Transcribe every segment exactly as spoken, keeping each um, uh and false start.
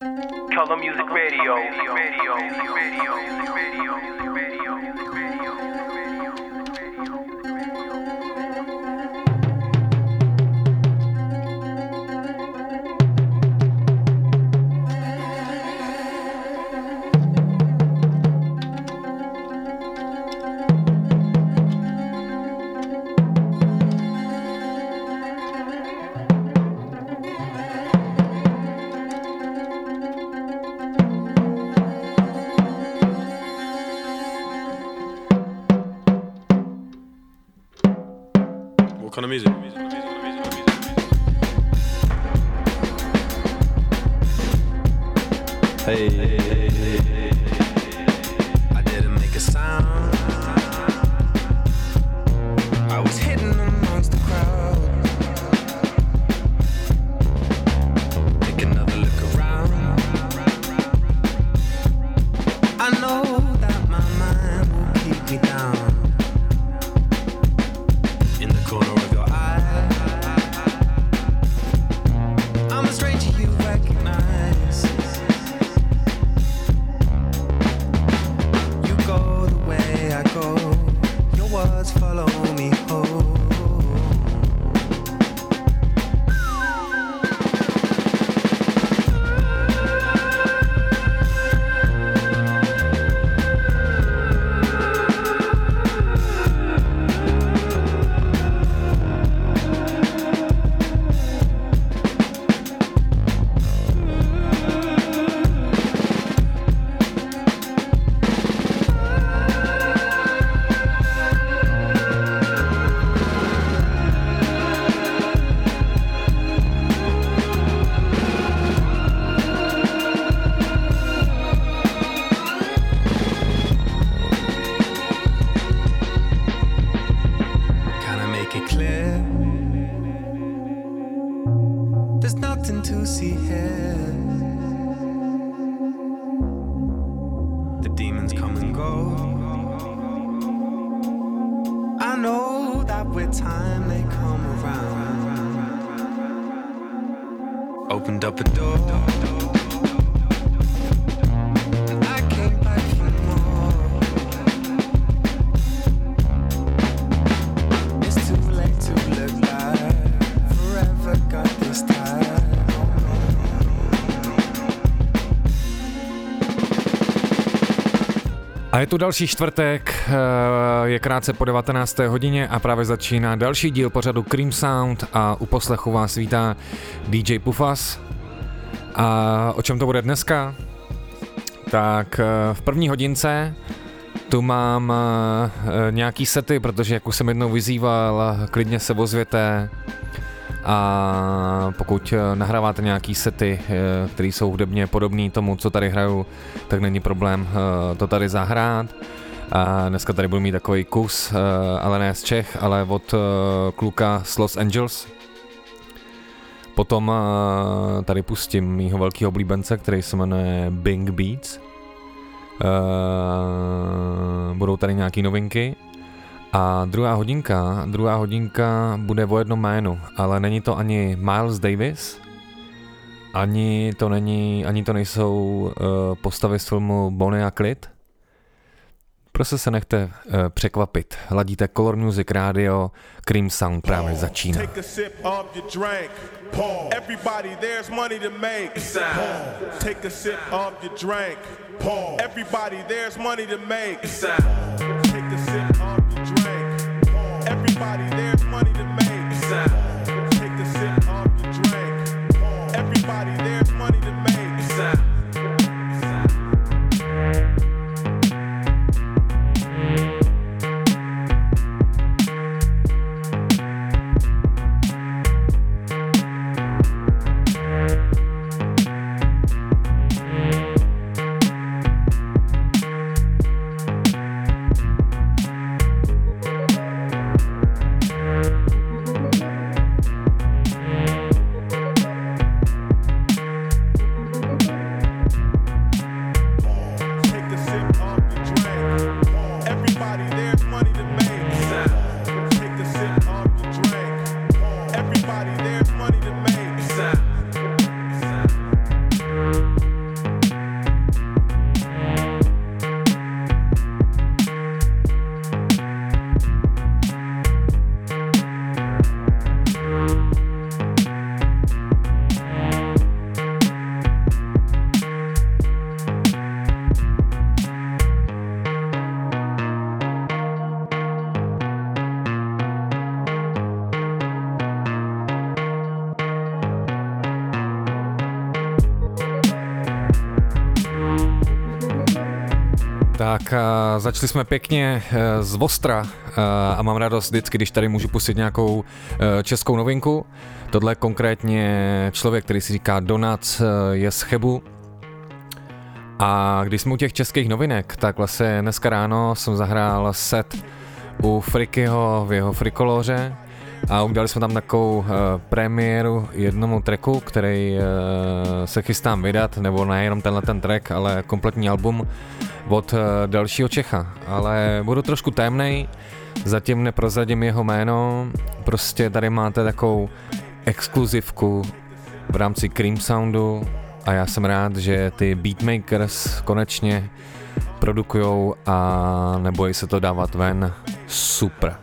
Color Music Radio. Radio. Radio. Radio. Radio. Radio. What kind of music? Hey, hey, hey, hey. I didn't make a sound. I was hidden amongst the crowd. Take another look around. I know that my mind will keep me down. In the corner of your eye, I'm a stranger you recognize. You go the way I go, your words follow me home. Opened up a door, and I came back for more. It's too late to look like forever got this time. A je tu další čtvrtek, je krátce po devatenácté hodině a právě začíná další díl pořadu Cream Sound a u poslechu vás vítá D J Pufas. A o čem to bude dneska? Tak v první hodince tu mám nějaký sety, protože jak už jsem jednou vyzýval, klidně se ozvěte a pokud nahráváte nějaký sety, které jsou hudebně podobné tomu, co tady hraju, tak není problém to tady zahrát. A dneska tady budu mít takový kus, ale ne z Čech, ale od kluka z Los Angeles. Potom tady pustím mýho velkého oblíbence, který se jmenuje Bing Beats. Budou tady nějaký novinky. A druhá hodinka, druhá hodinka bude o jednom jménu, ale není to ani Miles Davis, ani to není, ani to nejsou uh, postavy z filmu Bonnie a Clyde. Prostě se nechte uh, překvapit. Ladíte Color Music Radio, Cream Sound právě začíná. Take a sip of your drink. Pause. Everybody, there's money to make. Pause. Take a sip of your drink. Pause. Everybody, there's money to make. Pause. Take a sip of your drink. Pause. Everybody, there's money to make. Pause. Take a sip of your drink. Pause. Everybody, there's money to make. Tak a začali jsme pěkně z ostra a mám radost vždycky, když tady můžu pustit nějakou českou novinku. Tohle je konkrétně člověk, který si říká Donac, je z Chebu. A když jsme u těch českých novinek, tak vlastně dneska ráno jsem zahrál set u Frikyho v jeho Frikoloře a udělali jsme tam takovou uh, premiéru jednomu tracku, který uh, se chystám vydat, nebo nejenom tenhle ten track, ale kompletní album od uh, dalšího Čecha. Ale budu trošku témnej, zatím neprozradím jeho jméno, prostě tady máte takovou exkluzivku v rámci Cream Soundu a já jsem rád, že ty beatmakers konečně produkujou a nebojí se to dávat ven. Super.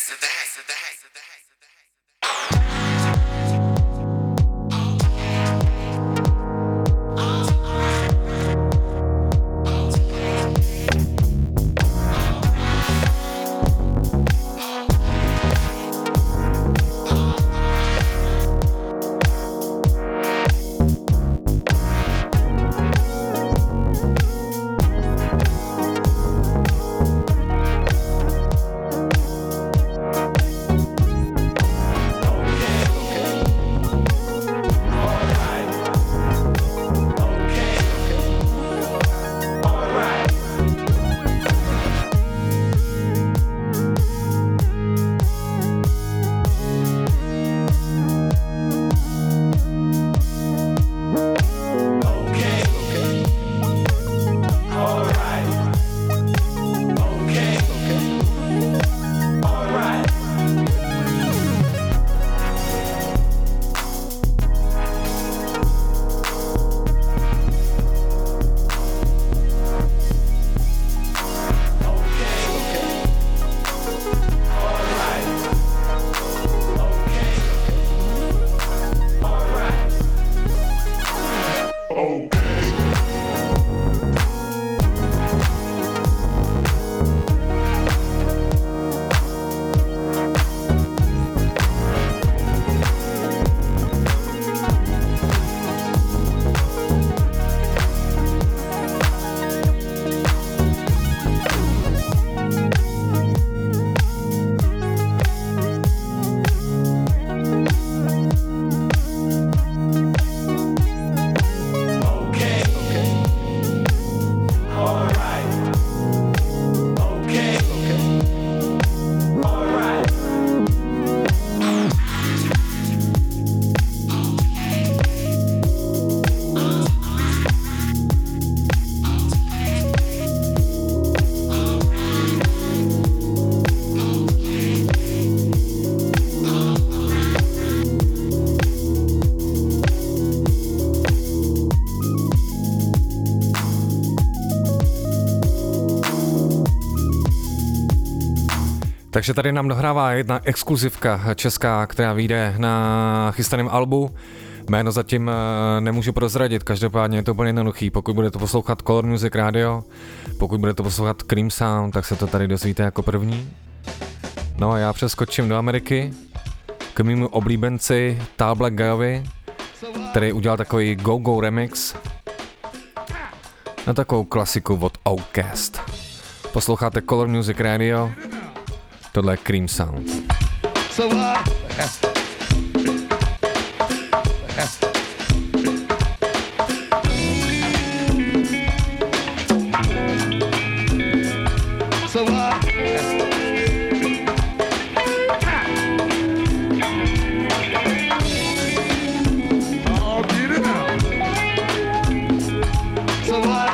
Takže tady nám dohrává jedna exkluzivka česká, která vyjde na chystaném albu. Jméno zatím nemůžu prozradit, každopádně je to úplně jednoduchý. Pokud budete poslouchat Color Music Radio, pokud budete poslouchat Cream Sound, tak se to tady dozvíte jako první. No a já přeskočím do Ameriky k mému oblíbenci Tall Black Guyovi, který udělal takový go-go remix na takovou klasiku od Outkast. Posloucháte Color Music Radio, tohle je Cream Sound. So, uh... So, uh... oh, get it out. So, uh...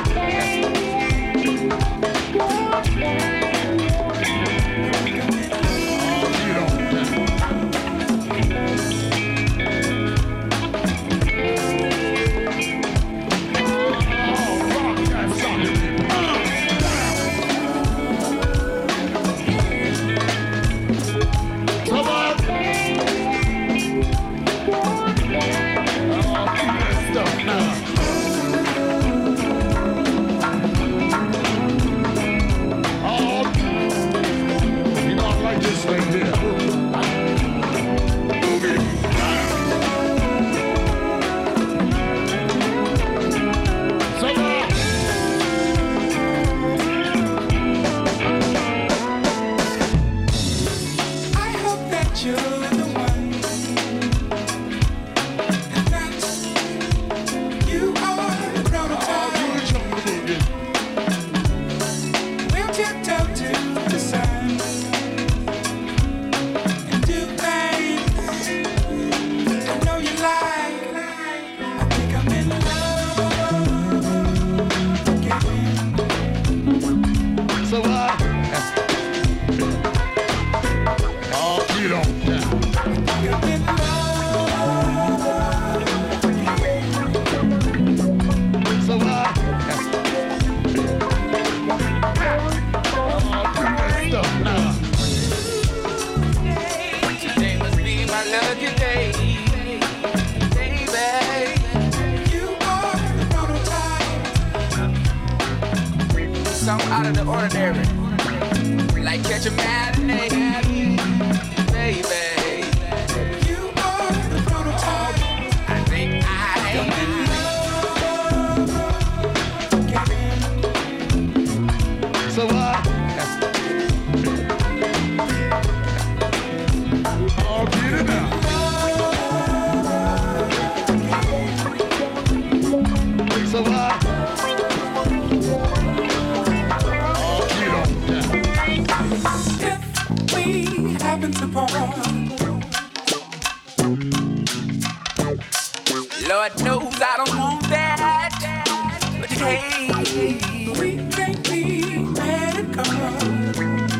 something out of the ordinary. Like catch a matinee, baby. You are the prototype. I think I am. So what? I'll get it now. So what? To part. Lord knows I don't want that, but hey, we can't be mad at God.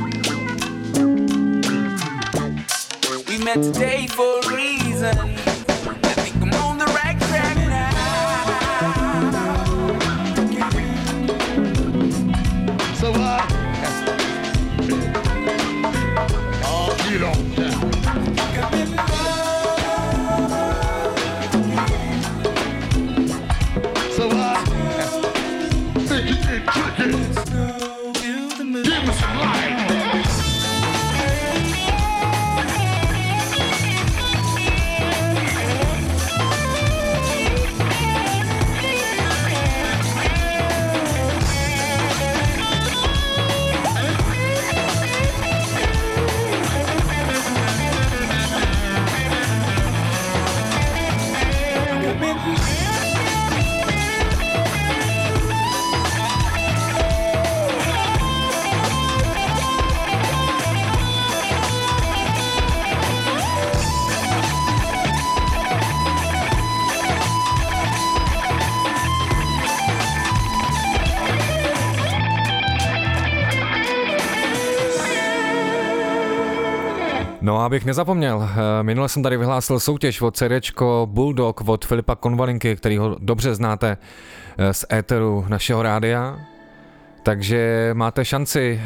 We met today for a reason. I think I'm on the right track now. So what? You don't care. So I think you can kick it. Give me some light. No a abych nezapomněl, minule jsem tady vyhlásil soutěž od CDčko Bulldog od Filipa Konvalinky, kterýho dobře znáte z éteru našeho rádia. Takže máte šanci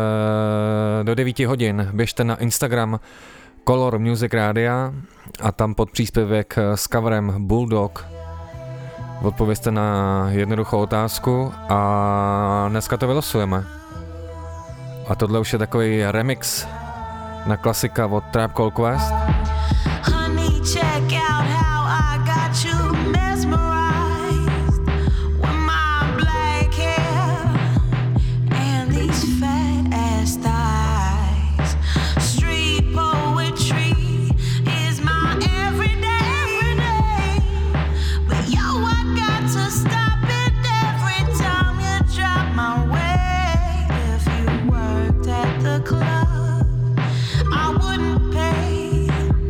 do devíti hodin, běžte na Instagram Color Music Rádia a tam pod příspěvek s coverem Bulldog odpovězte na jednoduchou otázku a dneska to vylosujeme. A tohle už je takový remix na klasika od Tribe Called Quest. Honey, check out how I got you mesmerized with my black hair and these fat ass thighs. Street poetry is my everyday, everyday. But yo, I got to stop it every time you drop my way. If you worked at the club, I wouldn't pay.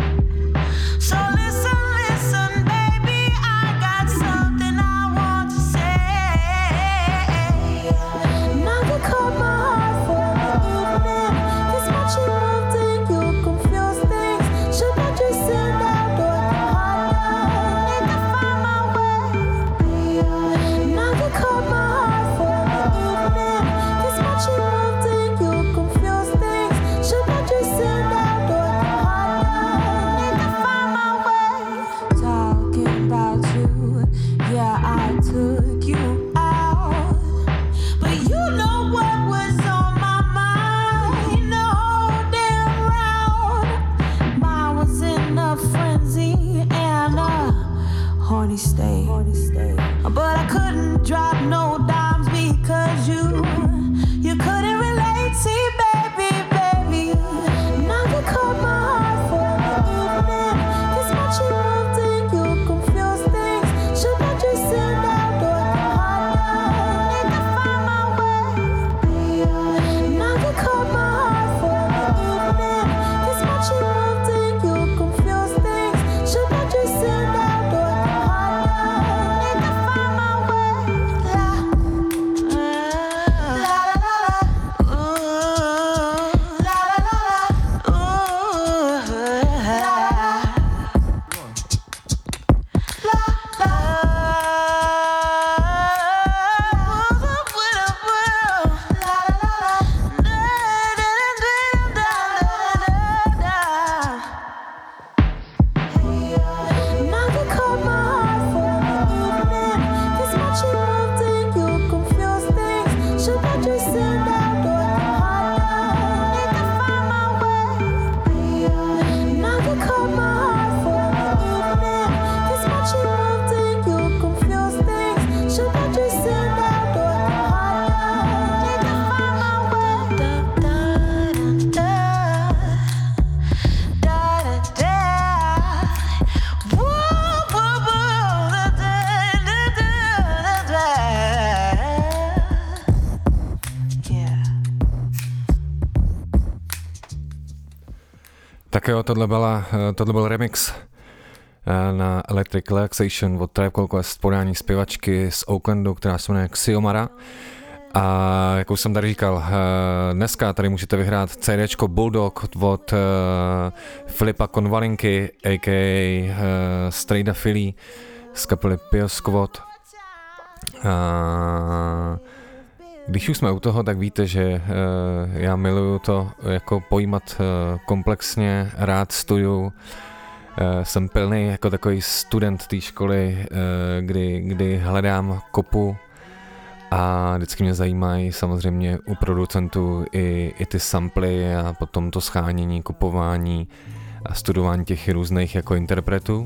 So listen, listen, baby, I got something I want to say. Never caught my heart for the evening. This much you moved and you confuse things. Should I just sit down or come down? Need to find my way. Never caught my heart for the evening. This much you moved and you confuse things. Should I just sit down or come down? Need to find my way. Talking about you, yeah, I took you out, but you know what was on my mind the whole damn round. I was in a frenzy and a horny state, but I couldn't drop no dimes because you, you couldn't relate. See, baby, baby, never caught my heart for the evening. This much you moved and you confuse things. Should I just sit down or come down? Need to find my way. Never caught my heart for the evening. This much you moved and you confuse things. Should I just sit down or come down? Need to find my way. Tak jo, tohle, byla, tohle byl remix na Electric Relaxation od Tribe Called Quest, podání zpěvačky z Oaklandu, která se jmenuje Xiomara. A jak už jsem tady říkal, dneska tady můžete vyhrát CDčko Bulldog od Filipa Konvalinky, a k a. Strejda Philly z kapely Pio Squad. A když už jsme u toho, tak víte, že uh, já miluju to jako pojímat uh, komplexně, rád studuju. Uh, jsem pilný jako takový student té školy, uh, kdy, kdy hledám kopu a vždycky mě zajímají samozřejmě u producentů i, i ty samply a potom to shánění, kupování a studování těch různých jako interpretů.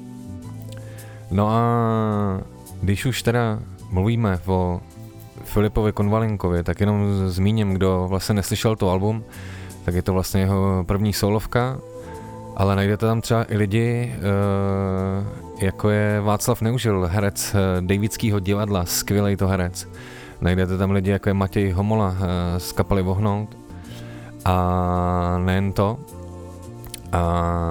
No a když už teda mluvíme o Filipovi Konvalinkovi, tak jenom zmíním, kdo vlastně neslyšel to album, tak je to vlastně jeho první solovka, ale najdete tam třeba i lidi, jako je Václav Neužil, herec Davidského divadla, skvělej to herec. Najdete tam lidi, jako je Matěj Homola z kapely Vohnout. A nejen to. A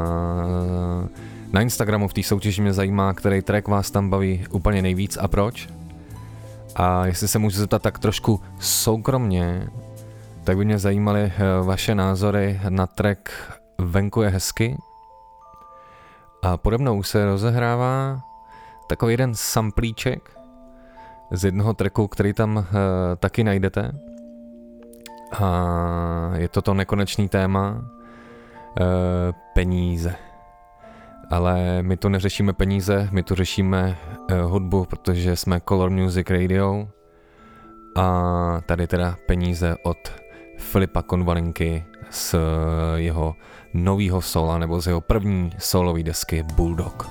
na Instagramu v té soutěži mě zajímá, který track vás tam baví úplně nejvíc a proč. A jestli se můžu zeptat tak trošku soukromně, tak by mě zajímaly vaše názory na track Venku je hezky. A pode mnou se rozehrává takový jeden samplíček z jednoho tracku, který tam uh, taky najdete. A je to to nekonečný téma uh, peníze. Ale my tu neřešíme peníze, my tu řešíme uh, hudbu, protože jsme Color Music Radio. A tady teda peníze od Filipa Konvalinky z uh, jeho novýho sola, nebo z jeho první solový desky Bulldog.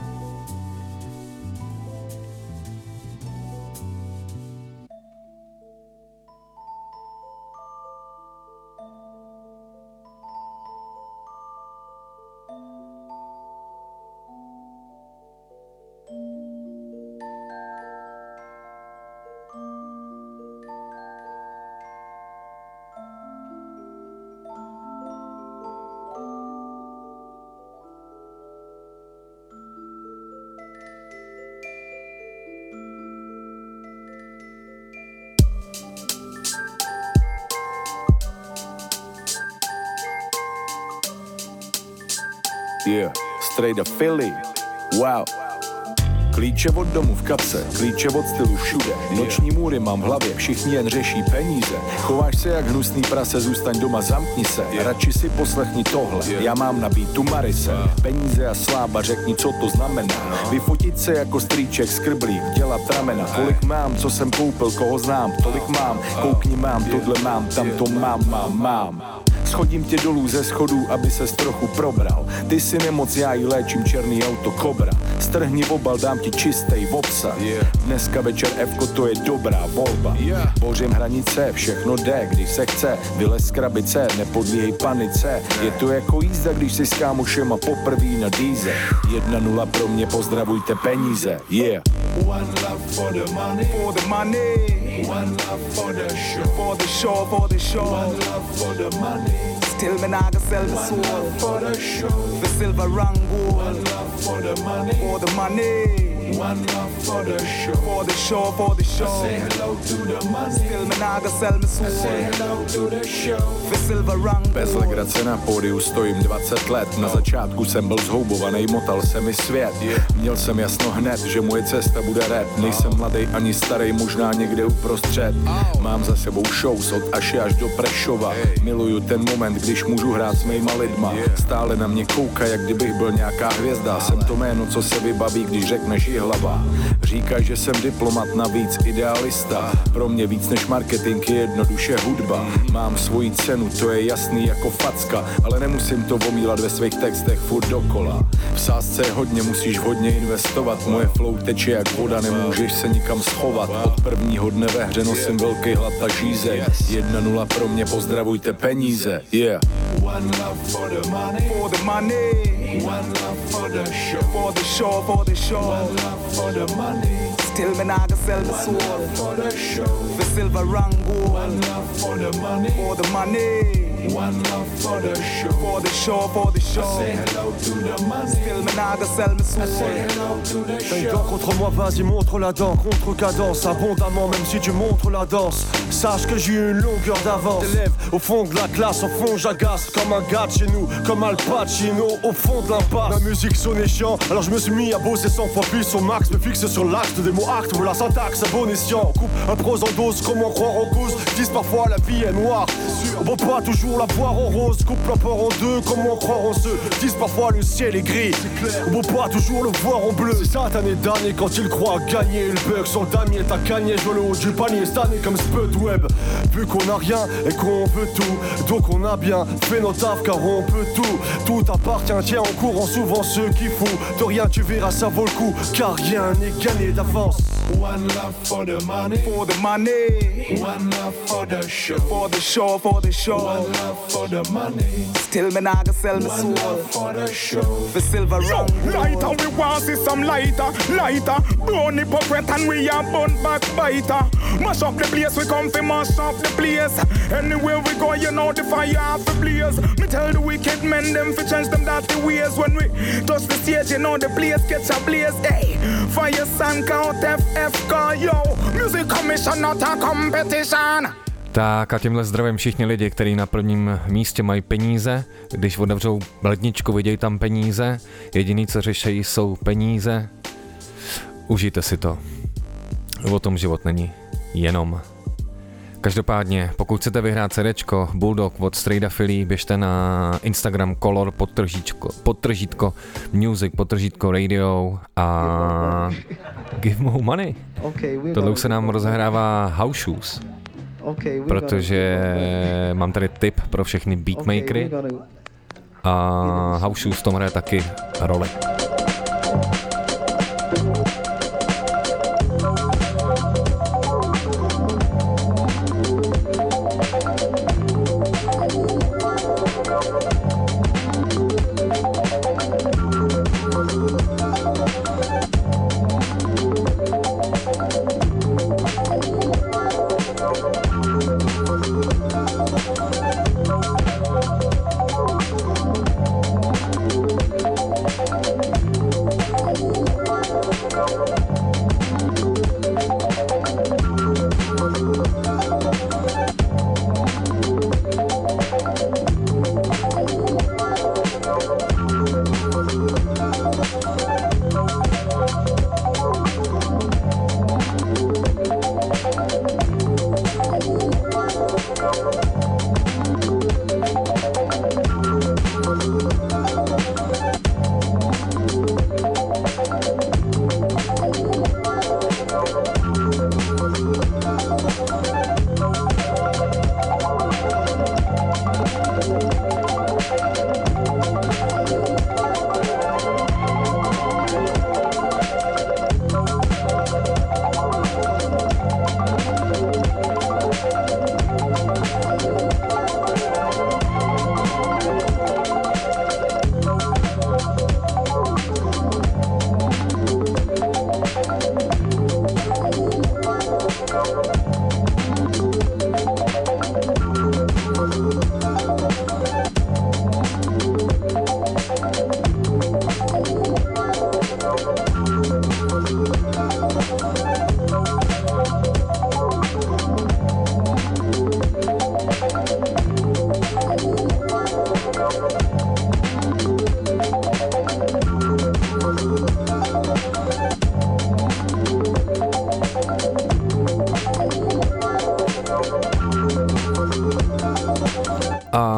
Yeah, straight up Philly, wow. Klíče od domu v kapse, klíče od stylu všude. Noční můry mám v hlavě, všichni jen řeší peníze. Chováš se jak hnusný prase, zůstaň doma, zamkni se. Radši si poslechni tohle, já mám na beatu Marise. Peníze a sláva, řekni, co to znamená. Vyfotit se jako strýček, skrblík, dělat ramena. Kolik mám, co jsem koupil, koho znám, tolik mám. Koukni, mám, tohle mám, tam to mám, mám, mám. Schodím tě dolů ze schodů, aby ses trochu probral. Ty si nemoc, já jí léčím, černý auto Kobra. Strhni obal, dám ti čistej obsah. Dneska večer Fko, to je dobrá volba. Bořím hranice, všechno jde, když se chce. Vylez z krabice, nepodvíhej panice. Je to jako jízda, když si s kámošema poprví na dýze. Jedna nula pro mě, pozdravujte peníze, yeah. One love for the money, For the money, one love for the show, for the show, for the show. one love for the money, Still me nah go sell the one soul love for the show, for silver and gold. one love for the money, For the money, one love for the show. for the show, for the show. Say hello to the money, Still me nah go sell my soul say hello to the show. for silver and Bez gold. legrace na pódiu stojím dvacet let. Na začátku jsem byl zhoubovaný, motal se mi svět. Měl jsem jasno hned, že moje cesta bude rap. Nejsem mladej ani starý, možná někde uprostřed. Mám za sebou shows od Aši až do Prešova. Miluju ten moment, když můžu hrát s mýma lidma. Stále na mě kouka, jak kdybych byl nějaká hvězda. Jsem to jméno, co se vybaví, když řekneš hlava. Říkají, že jsem diplomat, navíc idealista. Pro mě víc než marketing je jednoduše hudba. Mám svoji cenu, to je jasný jako facka, ale nemusím to omílat ve svých textech furt dokola. V sázce je hodně, musíš hodně investovat. Moje flow teče jak voda, nemůžeš se nikam schovat. Od prvního dne ve hře nosím velký hlad a žízeň. Jedna nula pro mě, pozdravujte peníze. Yeah. One love for the money, for the money. One love for the show, for the show, for the show. One love for the money. Still me nah go sell my soul. One love for the show, for silver and gold. One love for the money, for the money. One love for the show, for the show, for the show. I say hello to the money. Still me nah go sell my soul. I say hello to the show. Donc contre moi, vas-y montre la dent, contre cadence, abondamment même si tu montres la danse. Sache que j'ai une longueur d'avance. T'élèves au fond de la classe, au fond j'agace comme un gars de chez nous, comme Al Pacino au fond de l'impasse. La musique sonnait chiant, alors je me suis mis à bosser cent fois plus au max. Me fixe sur l'acte des mots actes, ou la syntaxe à bon escient. Coupe un prose en dose, comment croire en cause. Disent parfois la vie est noire, on peut pas toujours la voir en rose. Coupe la peur en deux, comment croire en ceux. Disent parfois le ciel est gris, on peut pas toujours le voir en bleu. C'est satané d'année quand il croit gagner. Le bug sur le damier, t'as gagné, je le haut du panier. Cette année comme Spud Web, vu qu'on a rien et qu'on veut tout, donc on a bien fait nos taf car on peut tout. Tout appartient, tiens en courant souvent ceux qui foutent de rien, tu verras ça vaut le coup, car rien n'est gagné d'avance. One love for the money, for the money. One love for the show, for the show, for the show. One love for the money. Still me nah go sell my soul. One love for the show, for silver round. Lighter, we want see some lighter, lighter. Burn hypocrite and we are burn backbiter. Mash up the place, we come fi mash up the place. Anywhere we go, you know the fire have to blaze. Me tell the wicked men them fi change them dirty ways. When we touch the stage, you know the place catch a blaze. Hey, fire sun count F F call yo. Music commission not a competition. Tak a tímhle zdravím všichni lidi, kteří na prvním místě mají peníze. Když otevřou ledničku, vidějí tam peníze. Jediný, co řeší, jsou peníze. Užijte si to. O tom život není. Jenom. Každopádně, pokud chcete vyhrát CDčko Bulldog od Strejda Philly, běžte na Instagram Color podtržítko, podtržítko Music podtržítko Radio a give more money. Tohle už se nám rozehrává House Shoes, protože mám tady tip pro všechny beatmakery a House Shoes v tom hraje taky roli.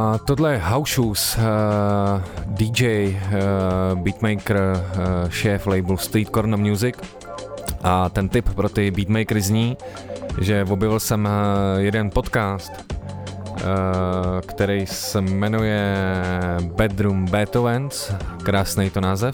tohle je House Shoes, uh, D J, uh, beatmaker, uh, šéf labelu Street Corner Music. A ten tip pro ty beatmakery zní, že objevil jsem uh, jeden podcast, uh, který se jmenuje Bedroom Beethovens, krásný to název.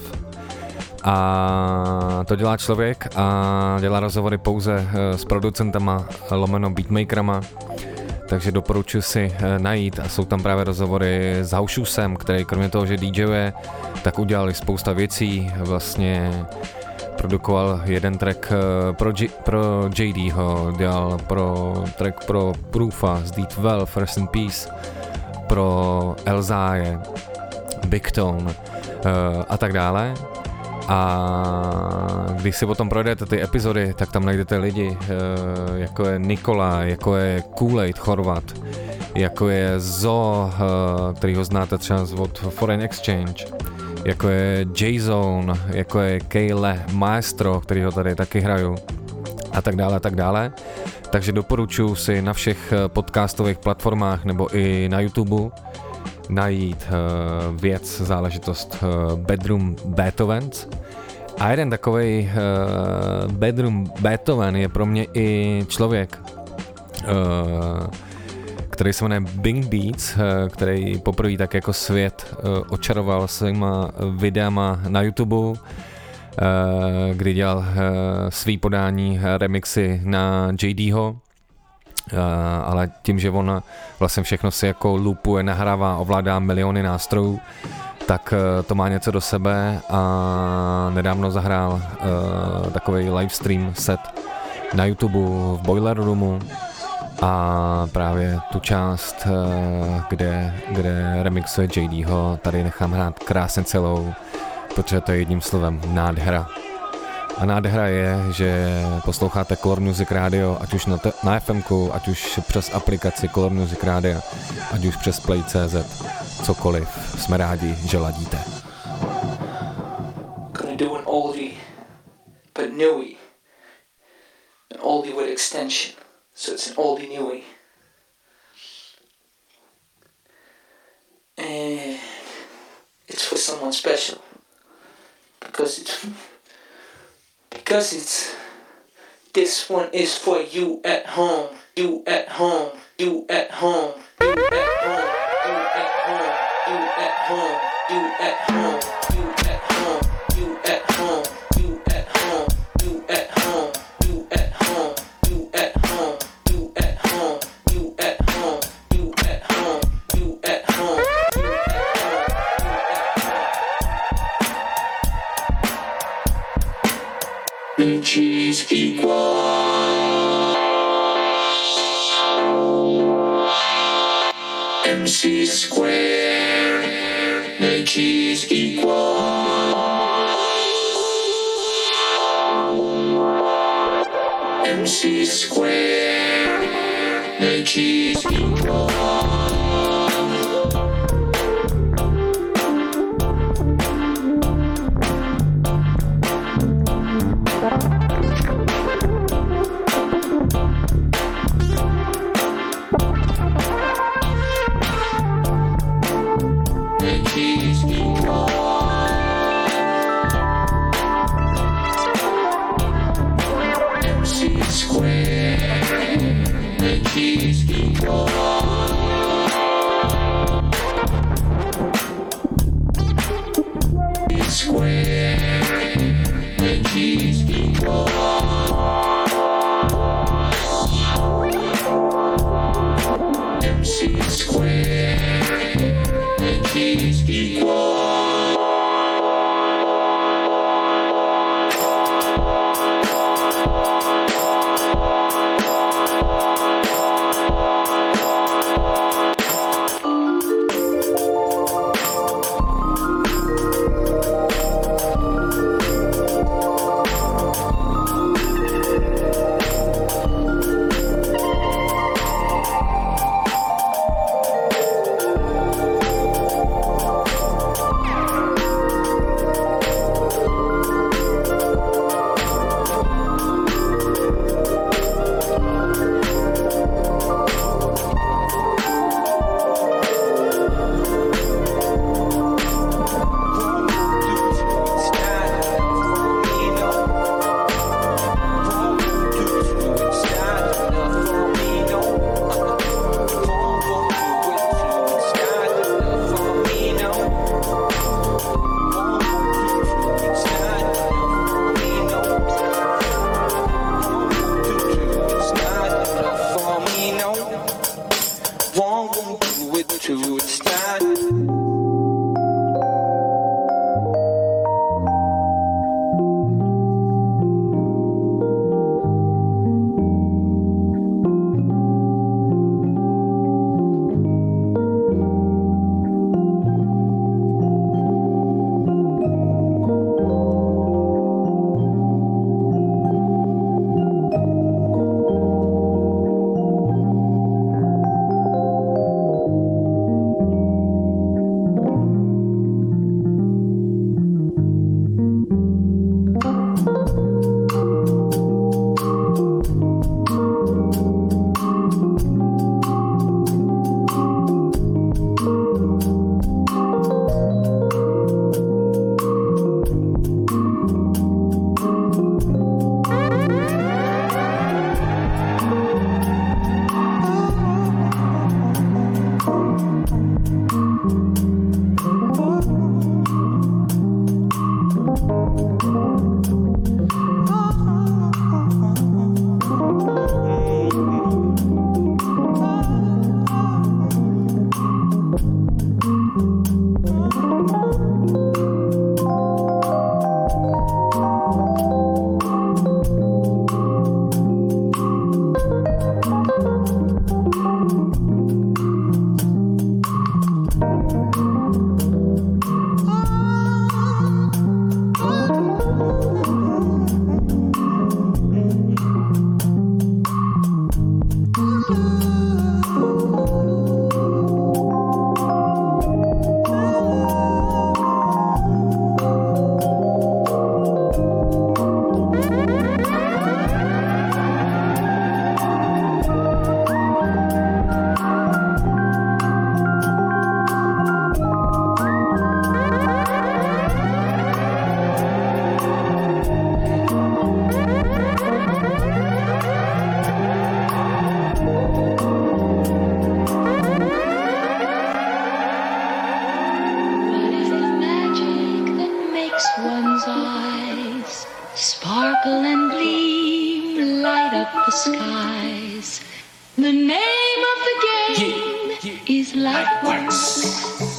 A to dělá člověk a dělá rozhovory pouze uh, s producentama, lomeno beatmakerama. Takže doporučuji si najít a jsou tam právě rozhovory s House Shoesem, který kromě toho, že DJuje, tak udělali spousta věcí, vlastně produkoval jeden track pro, G- pro J Dho, dělal pro track pro Proofa z D dvanáct, Rest in Peace, pro Elzáje, Big Tone uh, a tak dále. A když si potom projdete ty epizody, tak tam najdete lidi, jako je Nikola, jako je Kool-Aid Chorvat, jako je Zo, který ho znáte třeba od Foreign Exchange, jako je J-Zone, jako je Kale Maestro, který ho tady taky hraju, a tak dále, a tak dále. Takže doporučuji si na všech podcastových platformách nebo i na YouTube najít uh, věc, záležitost uh, Bedroom Beethovens. A jeden takovej uh, Bedroom Beethoven je pro mě i člověk, uh, který se jmenuje Bing Beats, uh, který poprvé tak jako svět uh, očaroval svýma videama na YouTube, uh, kdy dělal uh, svý podání remixy na J Dho. Uh, ale tím, že on vlastně všechno si jako loopuje, nahrává, ovládá miliony nástrojů, tak uh, to má něco do sebe a nedávno zahrál uh, takový livestream set na YouTube v Boiler Roomu a právě tu část, uh, kde, kde remixuje J Dho, tady nechám hrát krásně celou, protože to je jedním slovem nádhera. A nádhera je, že posloucháte Color Music Radio, ať už na, te- na FMku, ať už přes aplikaci Color Music Radio, ať už přes Play tečka cé zet, cokoliv. Jsme rádi, že ladíte. Gonna do an oldie, but newie. An oldie with extension, so it's an oldie newie. And it's for someone special, because it's... Because it's, this one is for you at home, you at home, you at home, you at home, you at home, you at home, you at home, you at home, you at home, you at home, you at home, you at home, you at home, you at home, you at home, you at home, you at home. Which is equal. M C square, which is equal. M C square, which is equal. Paradise. The name of the game yeah, yeah. is Lightworks.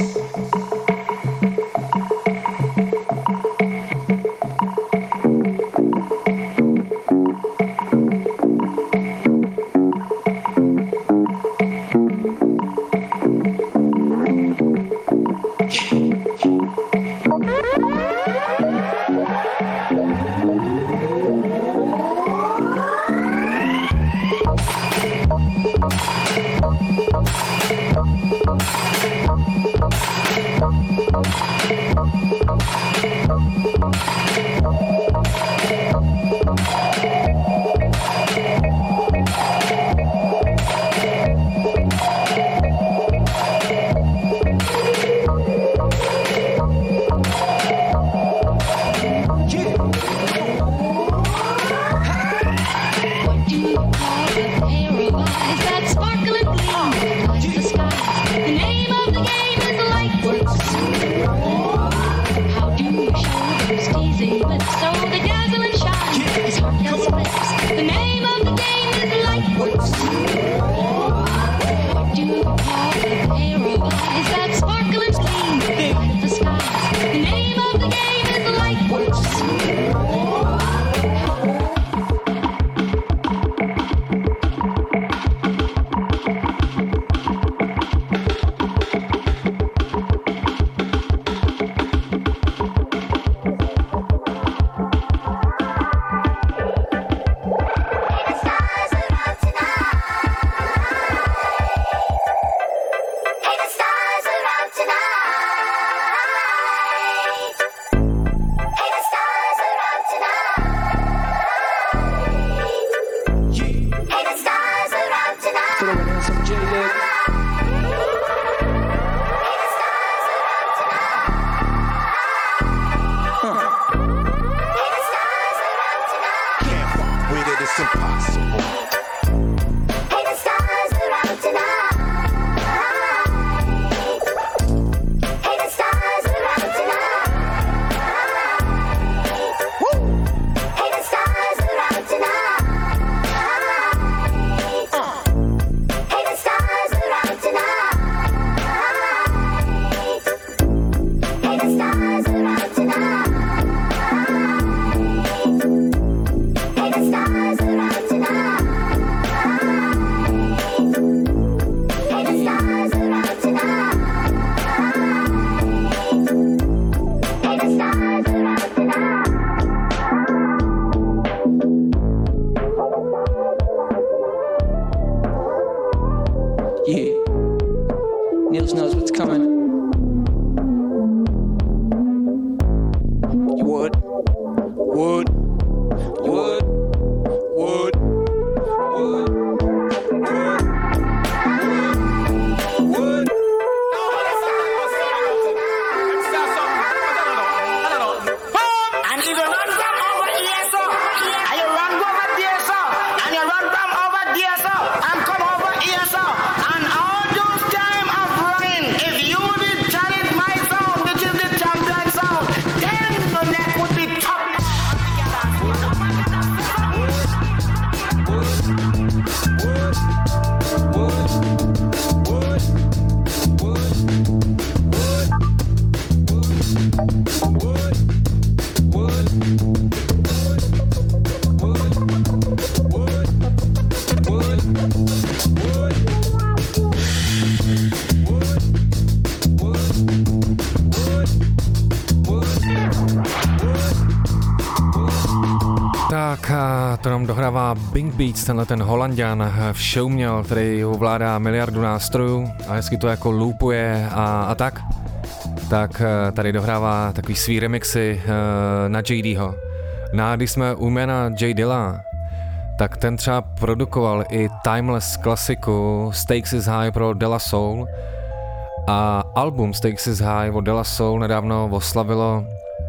Dohrává Bing Beats, tenhle ten Holanďan v show měl, který ovládá miliardu nástrojů a hezky to jako loopuje a, a tak. Tak tady dohrává takový svý remixy uh, na J Dho. No a když jsme u jména J Dilla, tak ten třeba produkoval i Timeless klasiku Stakes is High pro De La Soul a album Stakes is High od De La Soul nedávno oslavilo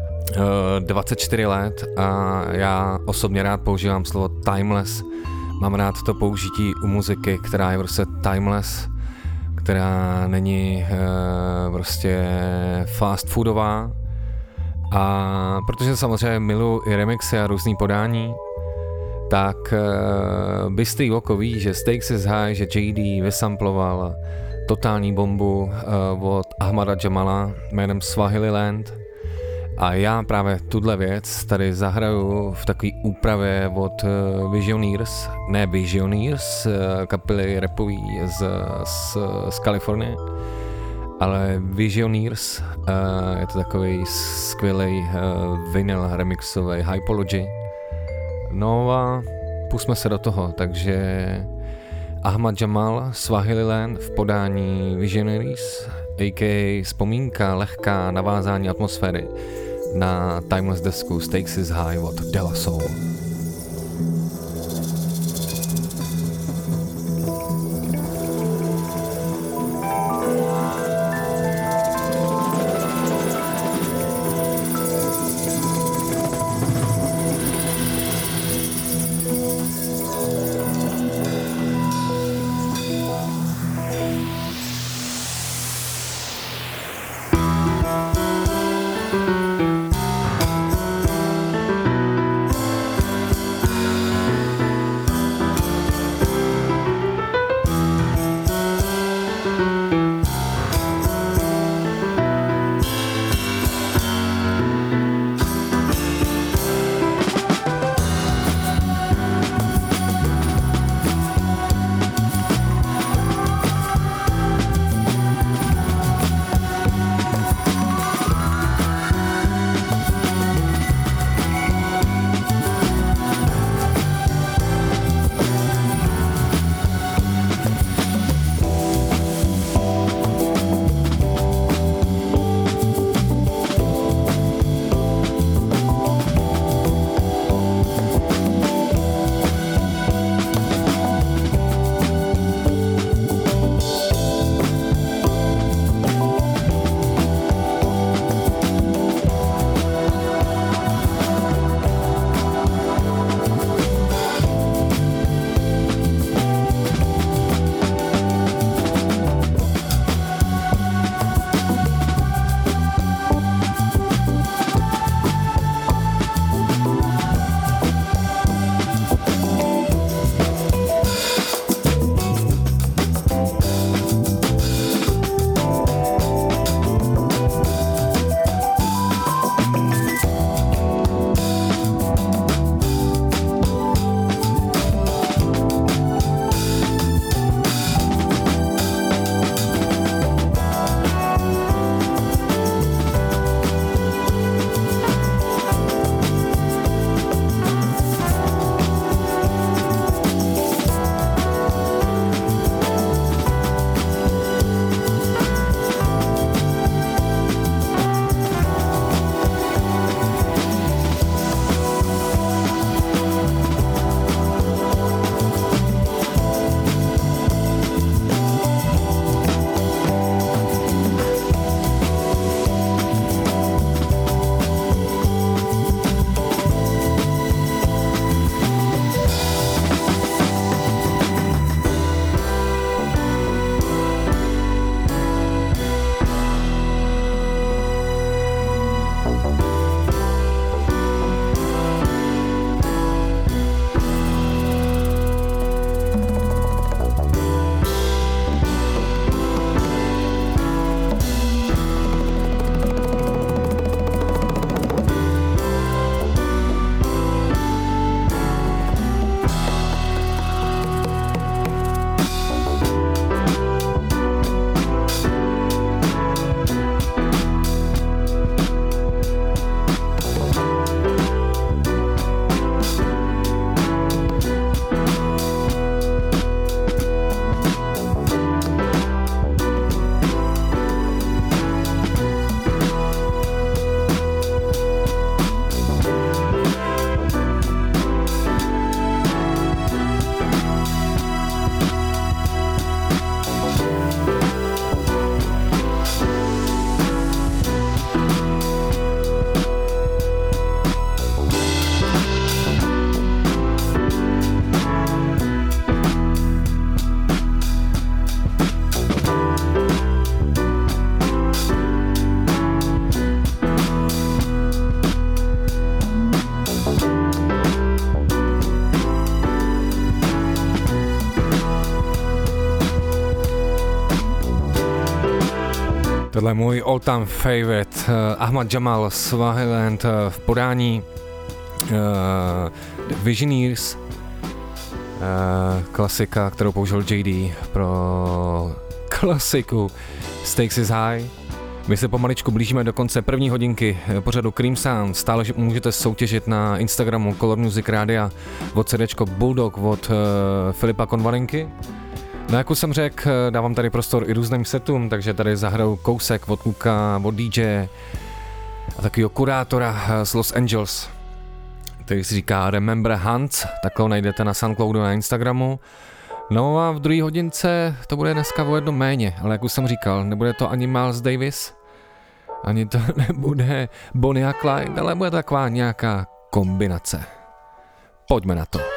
dvacet čtyři let a já osobně rád používám slovo timeless. Mám rád to použití u muziky, která je prostě timeless, která není e, prostě fast foodová. A protože samozřejmě miluji i remixy a různý podání, tak uh, bystrý oko ví, že Stakes is High, že J D vysamploval totální bombu uh, od Ahmada Jamala jménem Swahililand a já právě tuhle věc tady zahraju v takové úpravě od uh, Visioneers, ne Visioneers, uh, kapely rapový z, z, z Kalifornie, ale Visioneers, uh, je to takový skvělý uh, vinyl remixový Hypology. No a pusme se do toho, takže Ahmad Jamal, Swahililand v podání Visionaries, a k a vzpomínka, lehká navázání atmosféry na Timeless desku Stakes is High od De La Soul. Tohle je můj all-time favorite, uh, Ahmad Jamal, Swaziland uh, v podání uh, The Visioneers, uh, klasika, kterou použil J D pro klasiku Stakes is High. My se pomaličku blížíme do konce první hodinky pořadu Cream Sound. Stále můžete soutěžit na Instagramu Color Music Rádia od CDčko Bulldog od uh, Filipa Konvalinky. No jak už jsem řekl, dávám tady prostor i různým setům, takže tady zahraju kousek od Luka, od D J a takovýho kurátora z Los Angeles, který si říká Remember Hans, takhle ho najdete na Soundcloudu na Instagramu. No a v druhé hodince to bude dneska o jedno méně, ale jak už jsem říkal, nebude to ani Miles Davis, ani to nebude Bonnie a Clyde, ale bude taková nějaká kombinace. Pojďme na to.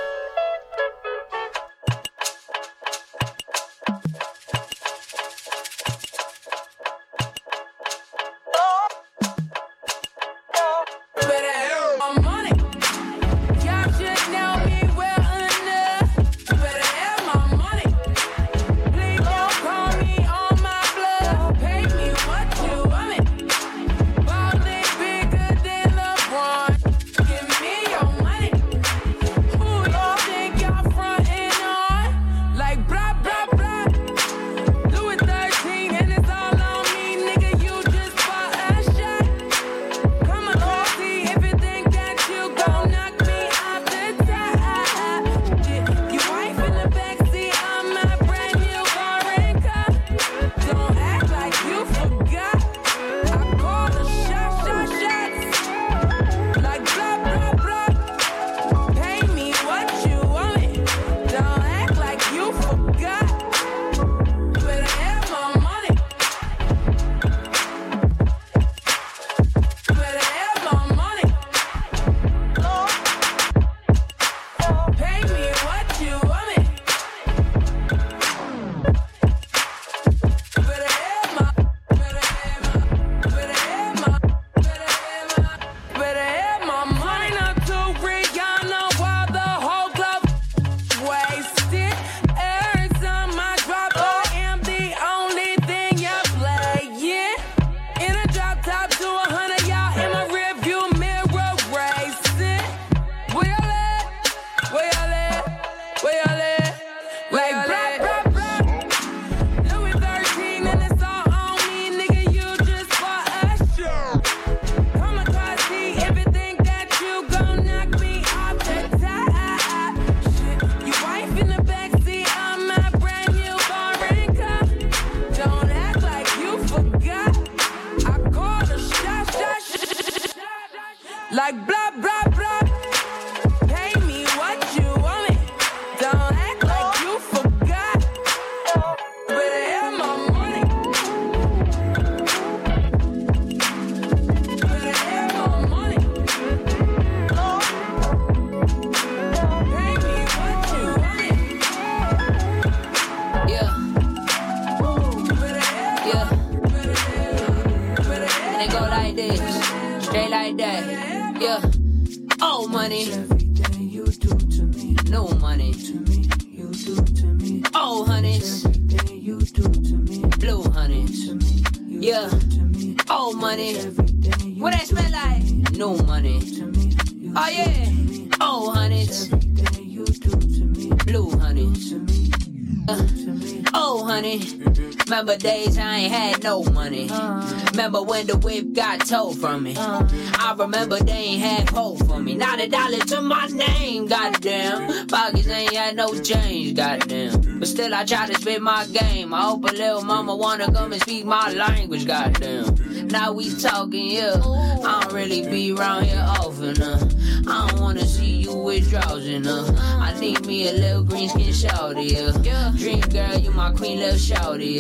Remember days I ain't had no money. Remember when the whip got told from me. I remember they ain't had hope for me. Not a dollar to my name, goddamn. Pockets ain't had no change, goddamn. But still I try to spit my game. I hope a little mama wanna come and speak my language, goddamn. Now we talking, yeah. I don't really be around here often, uh. I don't wanna see you with drowsing, uh. I need me a little green skin shawty, yeah. Dream girl, you my queen, little shawty,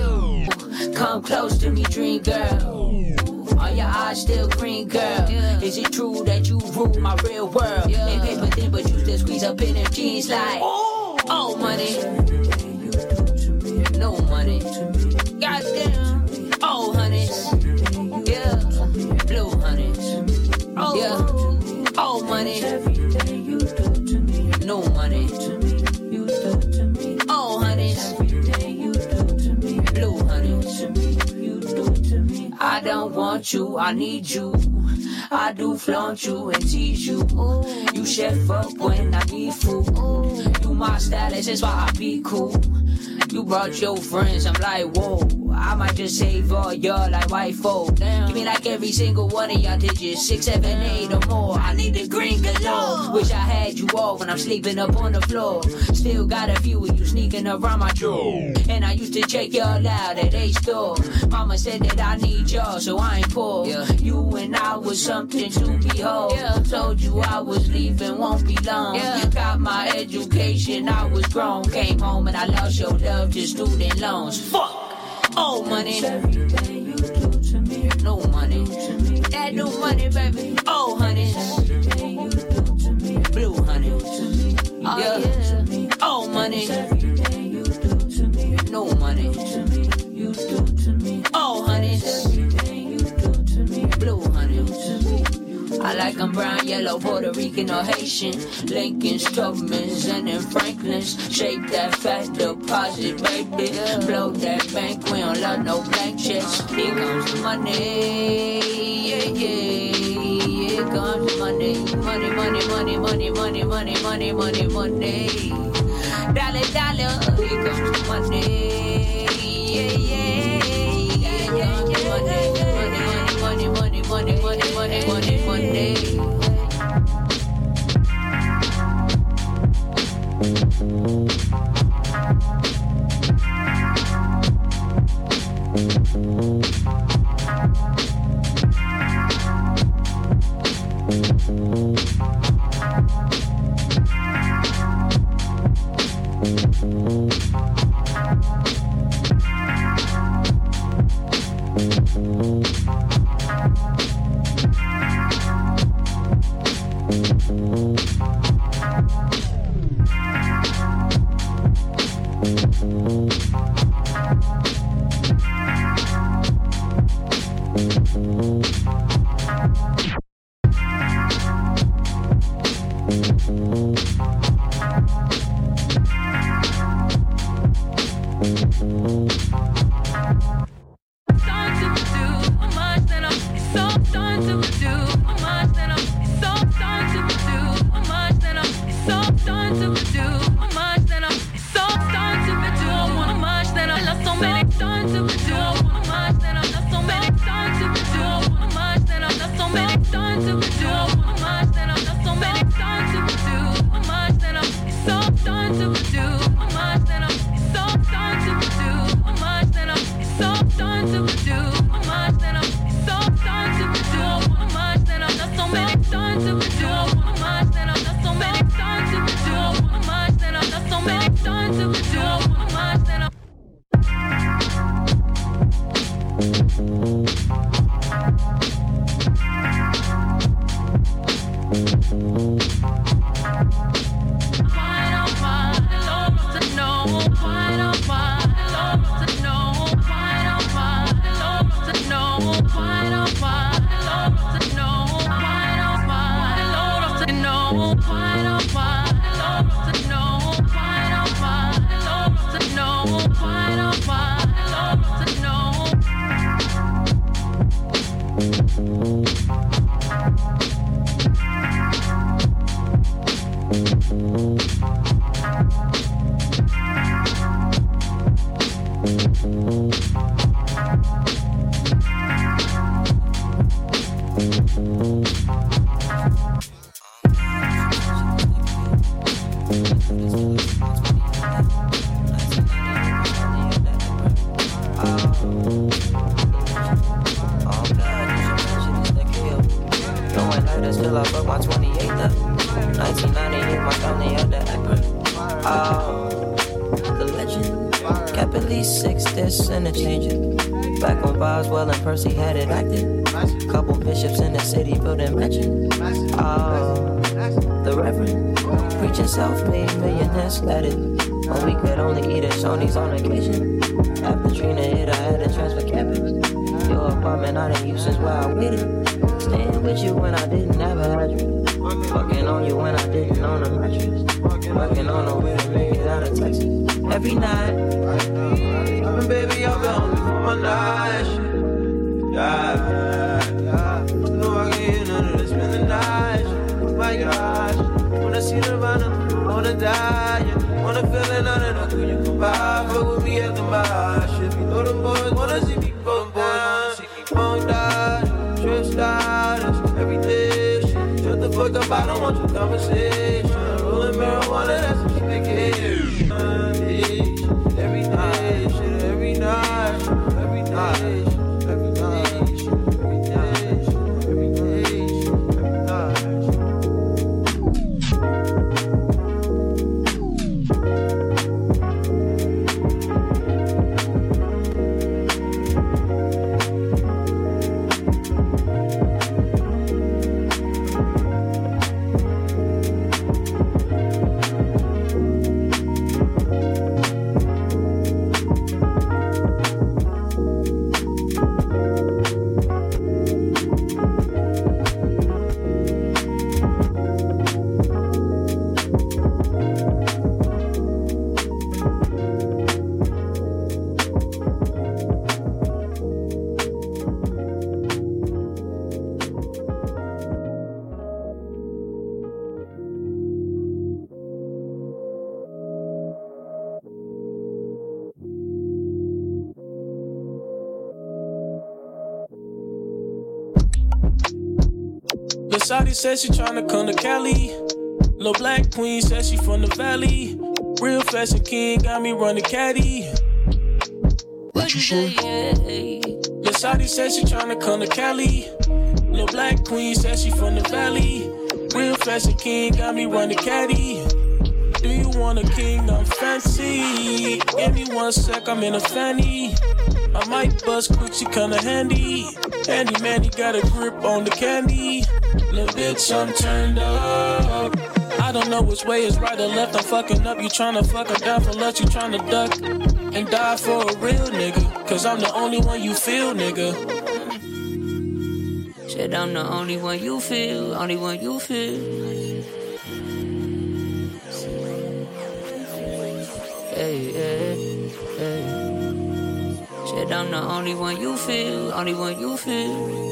yeah. Come close to me, dream girl. Are your eyes still green, girl? Is it true that you rule my real world? They paper thin, but you still squeeze up in them jeans like, oh, money. No money. Goddamn. Oh, honey. Yeah. Blue honey. Yeah. Oh, money. No money. Oh, honey. Blue honey. don't want you, I need you. I do flaunt you and tease you. You chef up when I need food. You my stylist, that's why I be cool. You brought your friends, I'm like, whoa. I might just save all y'all like white folk. Give me like every single one of y'all digits, six, seven, eight or more. I need the green galore. Wish I had you all when I'm sleeping up on the floor. Still got a few of you sneaking around my drawer. And I used to check y'all out at a store. Mama said that I need y'all, so I ain't poor. Yeah. You and I was something to behold. Yeah. Told you I was leaving, won't be long. Yeah. Got my education, I was grown. Came home and I lost your love to student loans. Fuck! Oh, money. Everything you do to me. No money. That new money, baby. Oh, honey. Everything you do to me. Blue honey. Oh, yeah. Oh, money. Everything you do to me. No money. You do to me. Oh, honey. Everything you do to me. Blue honey. I like them brown, yellow, Puerto Rican or Haitian. Lincolns, Tubmans, and then Franklins. Shape that fat deposit, baby. Blow that bank, we don't love no blank checks. Here comes the money, yeah, yeah. Here comes the money. Money, money, money, money, money, money, money, money, money. Dollar, dollar, here comes the money, yeah, yeah. Here comes the money. Money, money, money, money, money, money, money. Percy had it active. Couple bishops in the city building mansion. Oh, the Reverend preaching self-made millionaires let it. When we could only eat at Shoney's on occasion. After Trina hit, I had to transfer campus. Your apartment I didn't use since where I waited. Staying with you when I didn't have a address. Fucking on you when I didn't own a mattress. Working on a way to make it out of Texas. Every night, baby, I'll be home before my night. Yeah, yeah. No, I can't hear none of this, spend the night. My gosh, wanna see the run, wanna die. Yeah. Wanna feel another, no, could you come by? Fuck with me at the bar. Shit, we know them boys wanna see me go down. See me bone down, stressed out, everyday shit. Shut the fuck up, I don't want your conversation. Rolling marijuana, that's what you make it. Every day, shit, every night, every day. Shawty said she tryna come to Cali. Lil' black queen said she from the valley. Real fashion king got me running caddy. What you say? Lil' Shawty said she tryna come to Cali. Lil' black queen said she from the valley. Real fashion king got me running caddy. Do you want a kingdom fancy? Give me one sec, I'm in a fanny. I might bust quick, she kinda handy. Handy man, he got a grip on the candy. Little bitch, I'm turned up. I don't know which way is right or left. I'm fucking up. You tryna fuck her down for lust. You tryna duck and die for a real nigga. Cause I'm the only one you feel, nigga. Said I'm the only one you feel. Only one you feel. Hey, hey, hey. Said I'm the only one you feel. Only one you feel.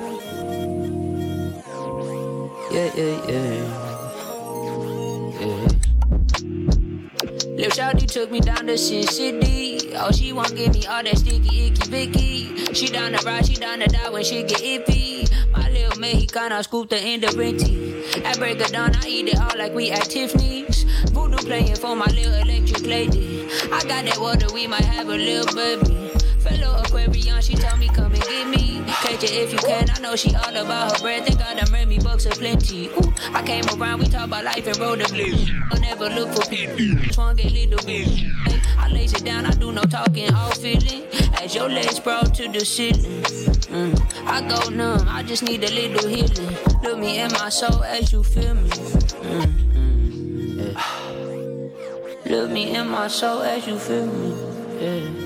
Yeah, yeah, yeah, yeah. Lil' shawty took me down to Sin City. Oh, she won't give me all that sticky, icky, vicky. She down to ride, she down to die when she get iffy. My little Mexicana scoop the end of Renty. I break her down, I eat it all like we at Tiffany's. Voodoo playing for my little electric lady. I got that water, we might have a little baby. Fellow Aquarian, she told me come and get me. Catch it if you can, I know she all about her bread. Think I done ran me bucks of plenty. Ooh, I came around, we talk about life and roll the blue. I'll never look for people, swung a little bit. Hey, I lays it down, I do no talking, all feeling. As your legs sprawl to the ceiling. Mm, I go numb, I just need a little healing. Look me in my soul as you feel me. Mm, mm, yeah. Look me in my soul as you feel me. Yeah.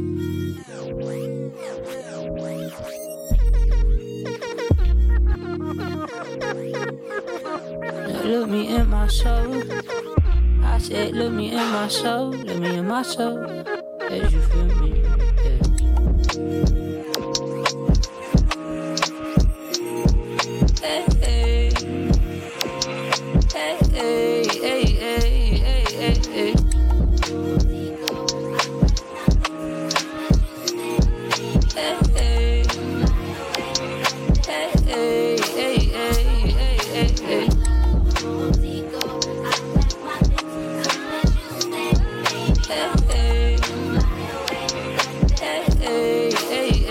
Look me in my soul. I said, look me in my soul. Look me in my soul. As you feel me. Yeah. Hey, hey. Hey, hey, hey, hey, hey, hey. Hey, hey. Hey, hey, hey, hey, hey, hey. Hey, hey, hey,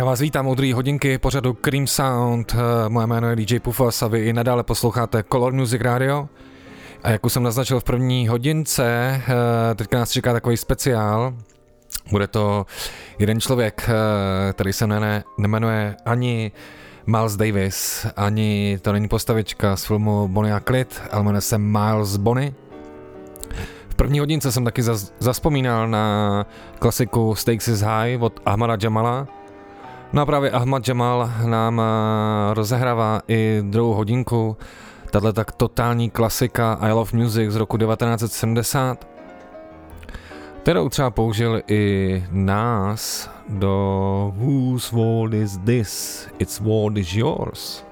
vás vítám u druhé hodinky pořadu Cream Sound. Moje jméno je D J Pufas a vy i nadále posloucháte Color Music Radio. A jak už jsem naznačil v první hodince, teďka nás čeká takový speciál. Bude to jeden člověk, který se ne, nemenuje ani Miles Davis, ani to není postavička z filmu Bonnie a Clyde, ale jmenuje se Miles Bonny. V první hodince jsem taky zas, zaspomínal na klasiku Stakes is High od Ahmada Jamala. No a právě Ahmad Jamal nám rozehrává i druhou hodinku. Tato tak totální klasika I Love Music z roku devatenáct set sedmdesát, kterou třeba použil i nás do Whose World is This? It's World is Yours.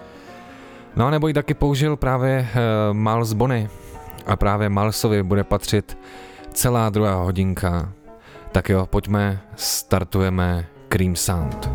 No a nebo ji taky použil právě uh, Miles Bonny a právě Milesovi bude patřit celá druhá hodinka. Tak jo, pojďme, startujeme Cream Sound.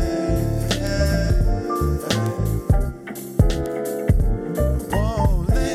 Whoa,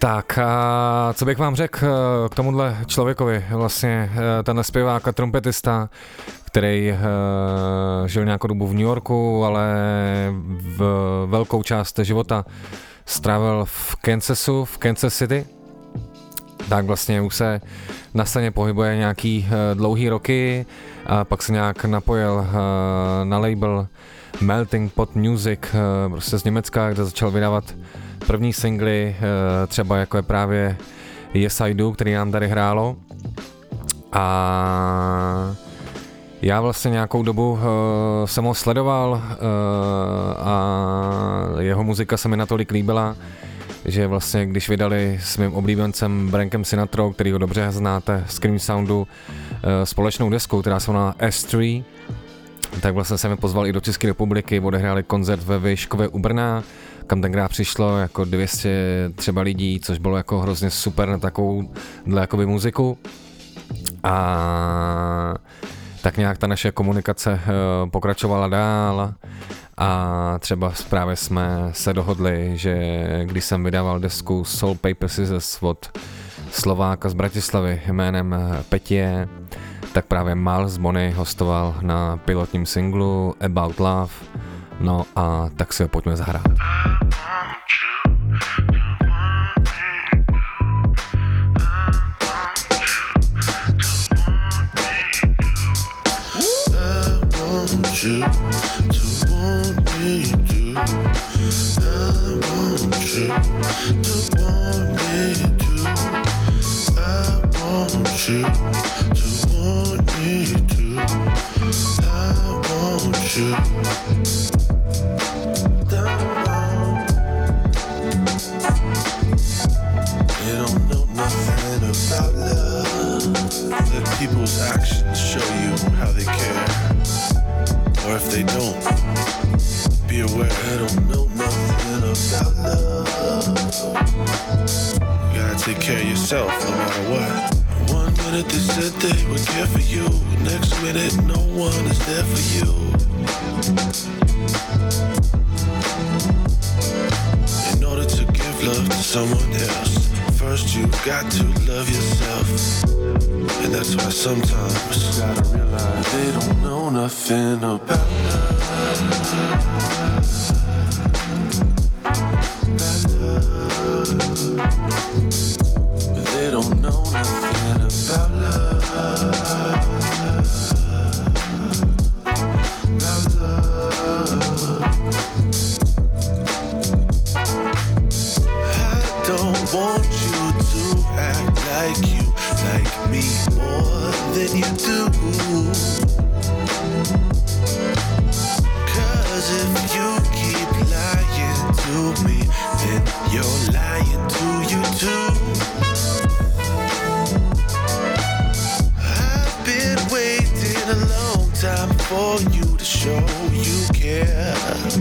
Tak a co bych vám řekl k tomuhle člověkovi, vlastně tenhle zpěvák a trumpetista, který uh, žil nějakou dobu v New Yorku, ale v velkou část života strávil v Kansasu, v Kansas City, tak vlastně už se na scéně pohybuje nějaký uh, dlouhý roky a pak se nějak napojil uh, na label Melting Pot Music, uh, prostě z Německa, kde začal vydávat první singly, uh, třeba jako je právě Yes I Do, který nám tady hrálo. A já vlastně nějakou dobu uh, jsem ho sledoval uh, a jeho muzika se mi natolik líbila, že vlastně když vydali s mým oblíbencem Brankem Sinatrou, který ho dobře znáte z Cream Soundu, uh, společnou desku, která se jmenala S tři, tak vlastně se mi pozval i do České republiky, odehráli koncert ve Výškové u Brna, kam tenkrát přišlo jako dvě stě třeba lidí, což bylo jako hrozně super na takovouhle jakoby muziku. A tak nějak ta naše komunikace uh, pokračovala dál a třeba právě jsme se dohodli, že když jsem vydával desku Soul Paper Scissors od Slováka z Bratislavy jménem Petie, tak právě Mal z Bony hostoval na pilotním singlu About Love, no a tak si ho pojďme zahrát. You to want me to, I want you to want me to, I want you to want me to, I want you. They don't know nothing about love. Let people's actions show you how they care. Or if they don't, be aware they don't know nothing about love. You gotta take care of yourself no matter what. One minute they said they would care for you, next minute no one is there for you. In order to give love to someone else, first you got to love yourself. And that's why sometimes you gotta realize they don't know nothing about love. But they don't know nothing about love. About love. I don't want you to act like you like me more than you do. Cause if you keep lying to me, then you're lying to you too. I've been waiting a long time for you to show you care.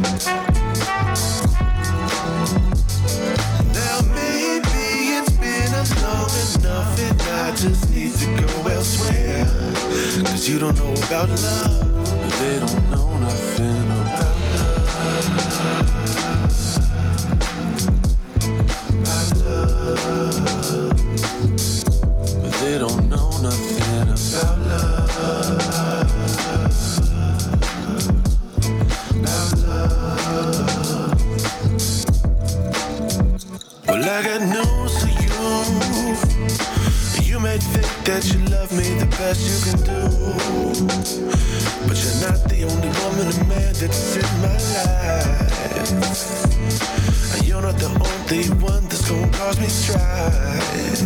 Now maybe it's been a long enough and I just need to go elsewhere. Cause you don't know about love, they don't know nothing about love. About love. But they don't know nothing about love. About love. Well, I got news for you. You may think that you love me the best you can do, but you're not the only woman or man that's in my life. And you're not the only one that's gonna cause me strife.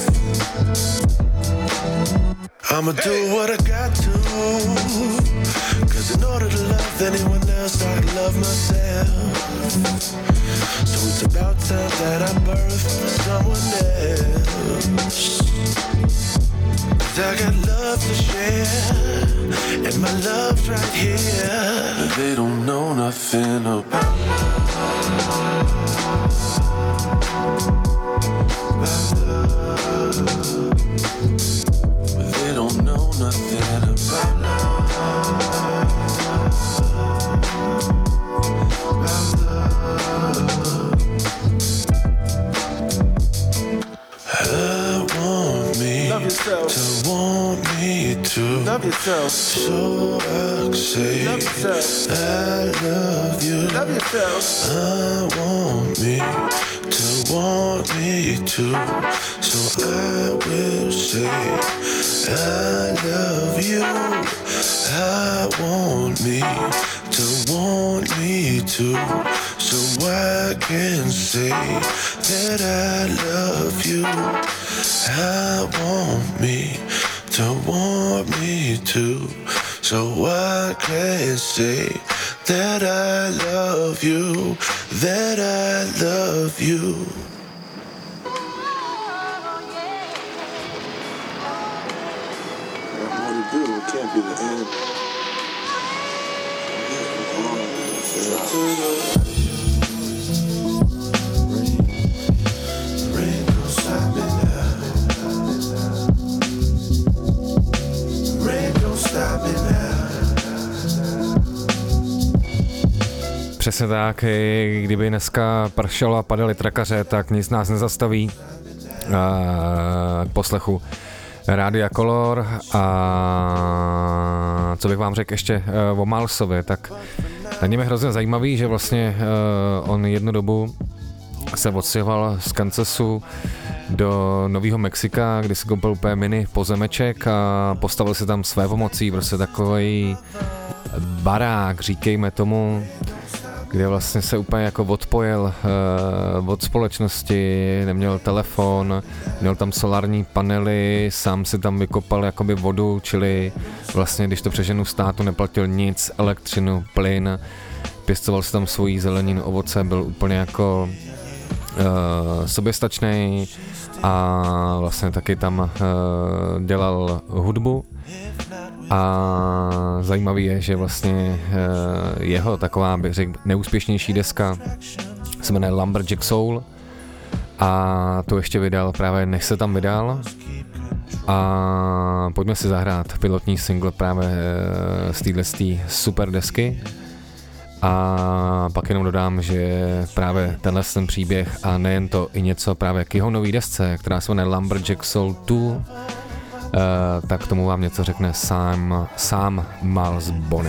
I'ma do what I got to, cause in order to love anyone else I love myself. So it's about time that I birth someone else. Cause I got love to share, and my love's right here. But they don't know nothing about love. About love. But they don't know nothing about love. About love. too. Love yourself. So I say, love yourself. I love you. Love yourself. I want me to want me too. So I will say, I love you. I want me to want me too. So I can say that I love you. I want me to want me too. So I can say that I love you, that I love you. What to do? It can't be the end. Rain don't stop me now. Rain don't stop me now. Přesně tak, i kdyby dneska pršelo a padaly trakaře, tak nic nás nezastaví k poslechu Rádia Color. A co bych vám řekl ještě o Milesovi, tak na něm je hrozně zajímavý, že vlastně on jednu dobu se odstěhoval z Kansasu do Nového Mexika, kdy si koupil úplně mini pozemeček a postavil si tam své pomocí, prostě takový barák, říkejme tomu, kde vlastně se úplně jako odpojil uh, od společnosti, neměl telefon, měl tam solární panely, sám si tam vykopal jakoby vodu, čili vlastně, když to přeženu státu, neplatil nic, elektřinu, plyn, pěstoval si tam svoji zeleninu, ovoce, byl úplně jako uh, soběstačnej a vlastně taky tam uh, dělal hudbu. A zajímavý je, že vlastně jeho taková, bych řekl, neúspěšnější deska se jmenuje Lumberjack Soul a to ještě vydal právě než se tam vydal. A pojďme si zahrát pilotní single právě z této super desky. A pak jenom dodám, že právě tenhle ten příběh a nejen to, i něco právě k jeho nový desce, která se jmenuje Lumberjack Soul dva, Uh, tak tomu vám něco řekne sám, sám Miles Bonny.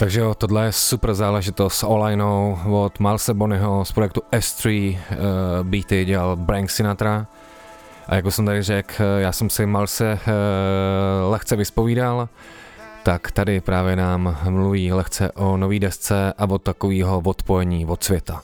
Takže jo, tohle je super záležitost s Olajnou od Milese Bonnyho z projektu S tři, uh, beaty dělal Frank Sinatra. A jako jsem tady řekl, já jsem si Milese uh, lehce vyspovídal, tak tady právě nám mluví lehce o nový desce a od takového odpojení od světa.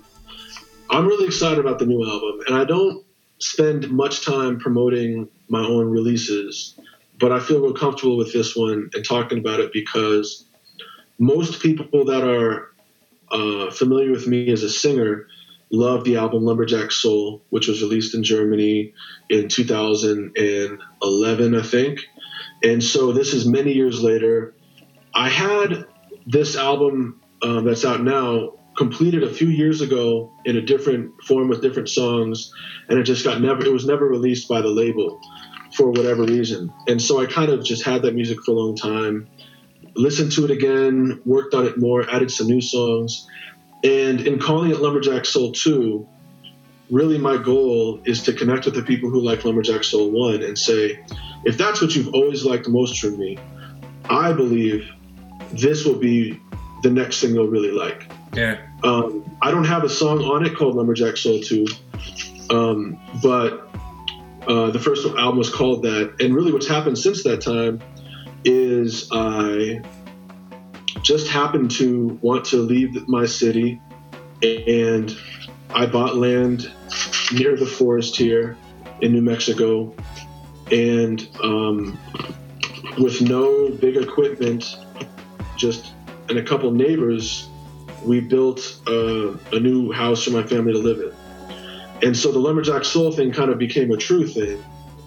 I'm really excited about the new album, and I don't spend much time promoting my own releases, but I feel real comfortable with this one and talking about it because most people that are uh, familiar with me as a singer love the album Lumberjack Soul, which was released in Germany in two thousand eleven, I think. And so this is many years later. I had this album um, that's out now completed a few years ago in a different form with different songs, and it just got never, it was never released by the label for whatever reason. And so I kind of just had that music for a long time, listened to it again, worked on it more, added some new songs. And in calling it Lumberjack Soul two, really my goal is to connect with the people who like Lumberjack Soul one and say, if that's what you've always liked most from me, I believe this will be the next thing you'll really like. Yeah. Um, I don't have a song on it called Lumberjack Soul two, um, but uh, the first album was called that. And really what's happened since that time is I just happened to want to leave my city, and I bought land near the forest here in New Mexico, and um, with no big equipment, just and a couple neighbors, we built uh, a new house for my family to live in. And so the Lumberjack Soul thing kind of became a true thing.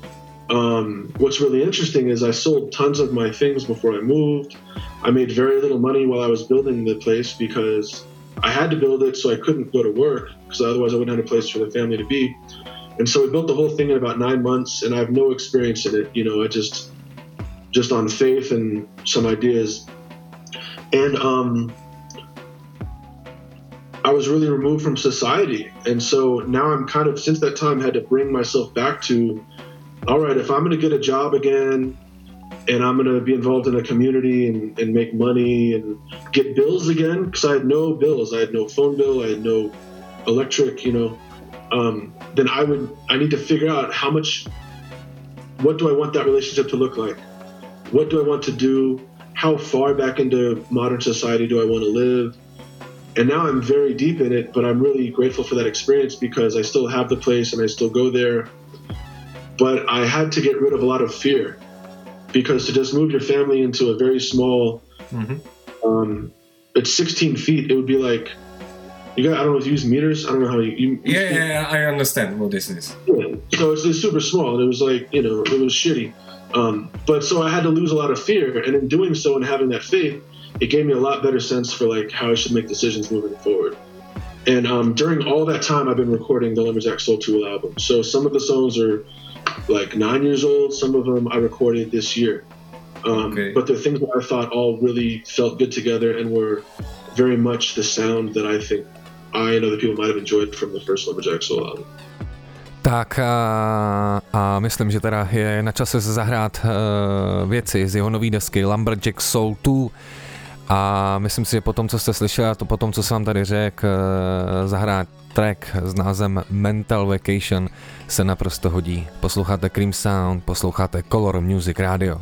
Um, what's really interesting is I sold tons of my things before I moved. I made very little money while I was building the place because I had to build it so I couldn't go to work, because otherwise I wouldn't have a place for the family to be. And so we built the whole thing in about nine months, and I have no experience in it. You know, I just, just on faith and some ideas. And um, I was really removed from society. And so now I'm kind of, since that time, had to bring myself back to, all right, if I'm going to get a job again and I'm going to be involved in a community and, and make money and get bills again, because I had no bills. I had no phone bill. I had no electric, you know, um, then I would, I need to figure out how much, what do I want that relationship to look like? What do I want to do? How far back into modern society do I want to live? And now I'm very deep in it, but I'm really grateful for that experience because I still have the place and I still go there. But I had to get rid of a lot of fear, because to just move your family into a very small, mm-hmm. um, it's sixteen feet. It would be like, you got, I don't know if you use meters. I don't know how you, you yeah, yeah, yeah, I understand what this is. Yeah. So it's, it's super small, and it was like, you know, it was shitty. Um, but so I had to lose a lot of fear, and in doing so and having that faith, it gave me a lot better sense for like how I should make decisions moving forward. And um, during all that time, I've been recording the Lumberjack Soul two album. So some of the songs are like nine years old. Some of them I recorded this year. Um, okay. But they're things that I thought all really felt good together and were very much the sound that I think I and other people might have enjoyed from the first Lumberjack Soul album. Tak a, a myslím, že teda je na čase se zahrát uh, věci z jeho nový desky Lumberjack Soul dva. A myslím si, že po tom, co jste slyšeli, a to po tom, co jsem vám tady řekl, zahrát track s názvem Mental Vacation se naprosto hodí. Posloucháte Cream Sound, posloucháte Color Music Radio.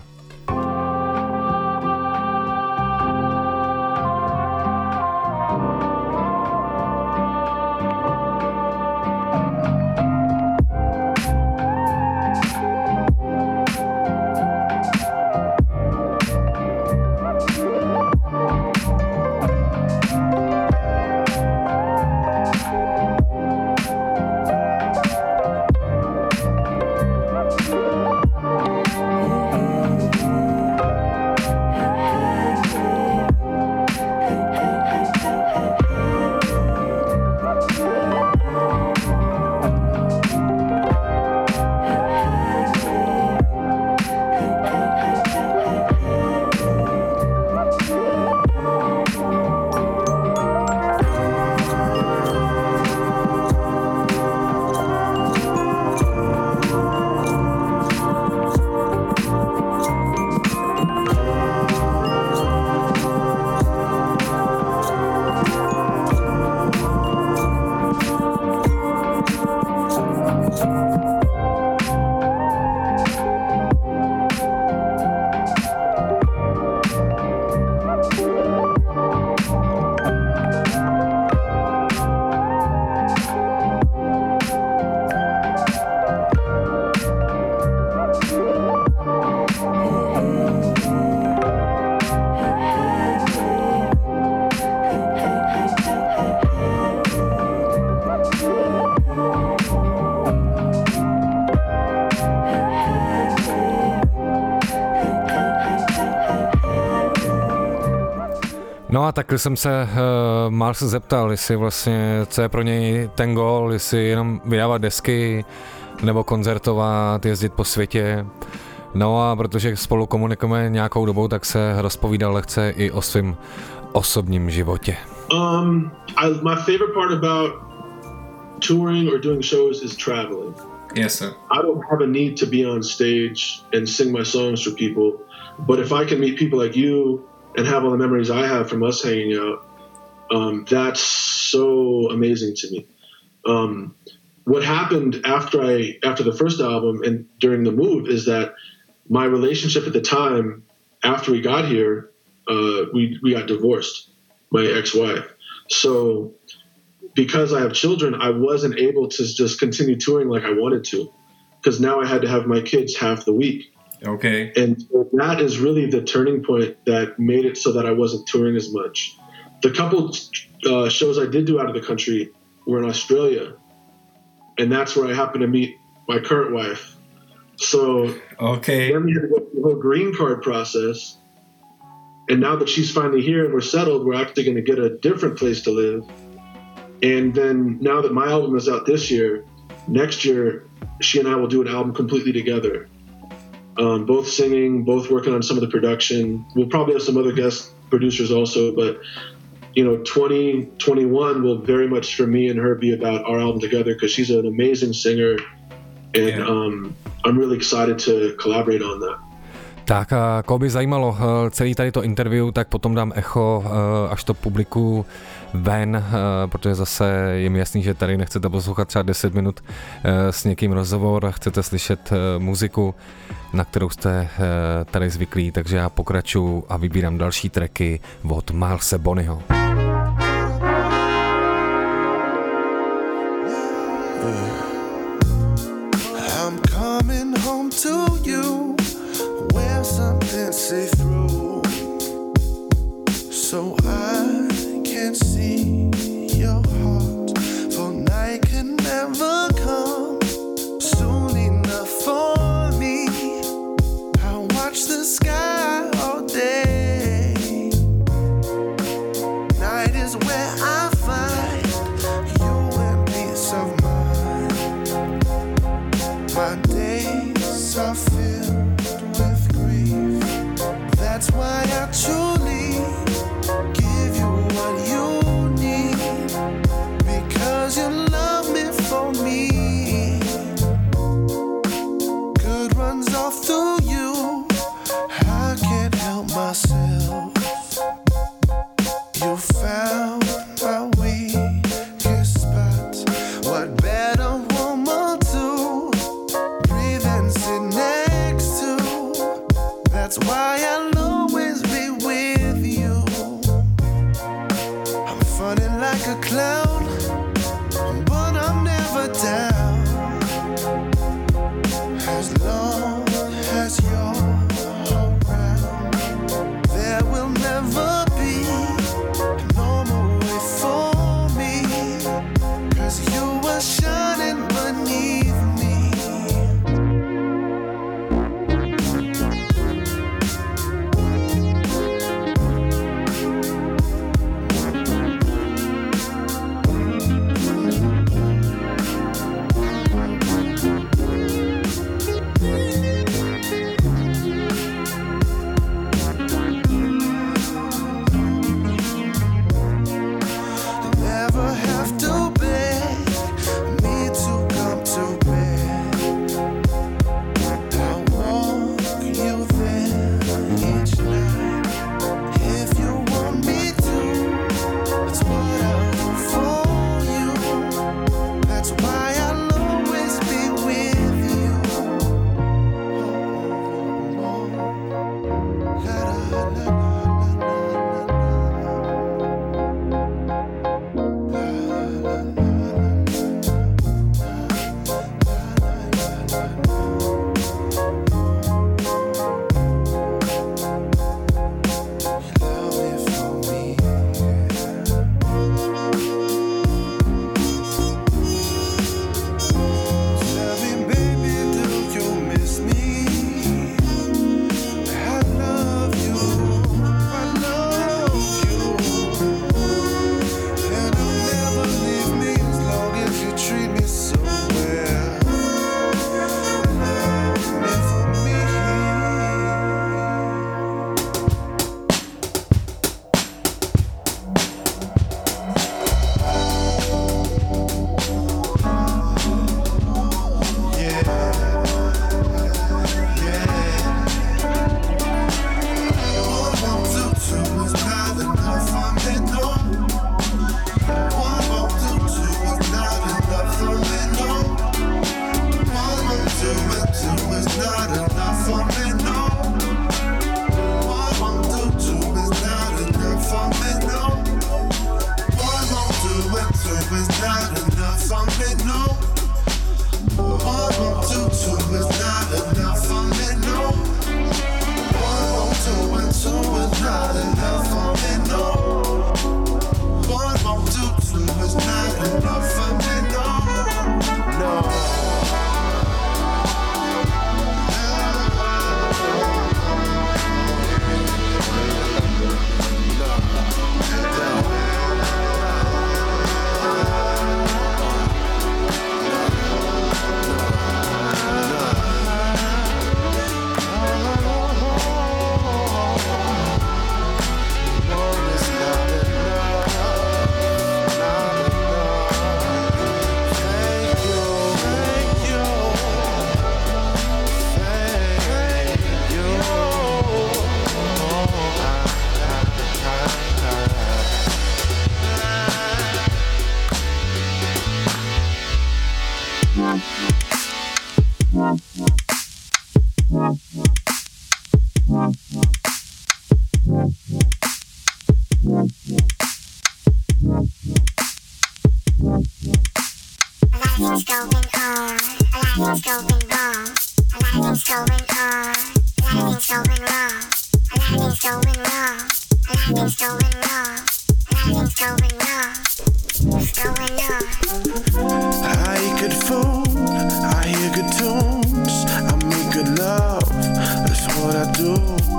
No a tak jsem se uh, Mars zeptal, jestli vlastně, co je pro něj ten gól, jestli jenom vydávat desky, nebo koncertovat, jezdit po světě. No a protože spolu komunikujeme nějakou dobou, tak se rozpovídal lehce i o svém osobním životě. Um, I, my favorite part about touring or doing shows is traveling. Yes, sir. I don't have a need to be on stage and sing my songs for people, but if I can meet people like you and have all the memories I have from us hanging out, um, that's so amazing to me. Um, what happened after I after the first album and during the move is that my relationship at the time, after we got here, uh, we we got divorced, my ex-wife. So because I have children, I wasn't able to just continue touring like I wanted to, because now I had to have my kids half the week. Okay. And so that is really the turning point that made it so that I wasn't touring as much. The couple uh, shows I did do out of the country were in Australia, and that's where I happened to meet my current wife. So okay. Then we had to go through the whole green card process, and now that she's finally here and we're settled, we're actually going to get a different place to live. And then now that my album is out this year, next year she and I will do an album completely together. Um, both singing, both working on some of the production. We'll probably have some other guest producers also, but you know, twenty twenty-one will very much for me and her be about our album together, because she's an amazing singer, and yeah. um, I'm really excited to collaborate on that. Tak a koho by zajímalo celý tady to interview, tak potom dám echo, až to publikuju ven, protože zase je mi jasný, že tady nechcete poslouchat třeba deset minut s někým rozhovor, chcete slyšet muziku, na kterou jste tady zvyklí, takže já pokračuju a vybírám další tracky od Milese Bonnyho. I'm coming home to you, wear something see-through, so I can see your heart, for night can never come soon enough for me. I watch the sky all day, night is where I find you and peace of mind. My days are filled with grief, that's why I truly give you what you need, because you love me for me. Good runs off through you, I can't help myself. You found my weakest spot, what better woman to breathe and sit next to, that's why I'll always be with you. I'm funny like a clown, but I'm never down, as long as you're around. There will never be a normal way for me, 'cause you were shining beneath me. things going wrong. A lot of things going on. A lot of things going wrong. A lot of things going wrong. A lot of things going wrong. A lot of things going wrong. What's going on? I eat good food, I hear good tunes, I make good love, that's what I do.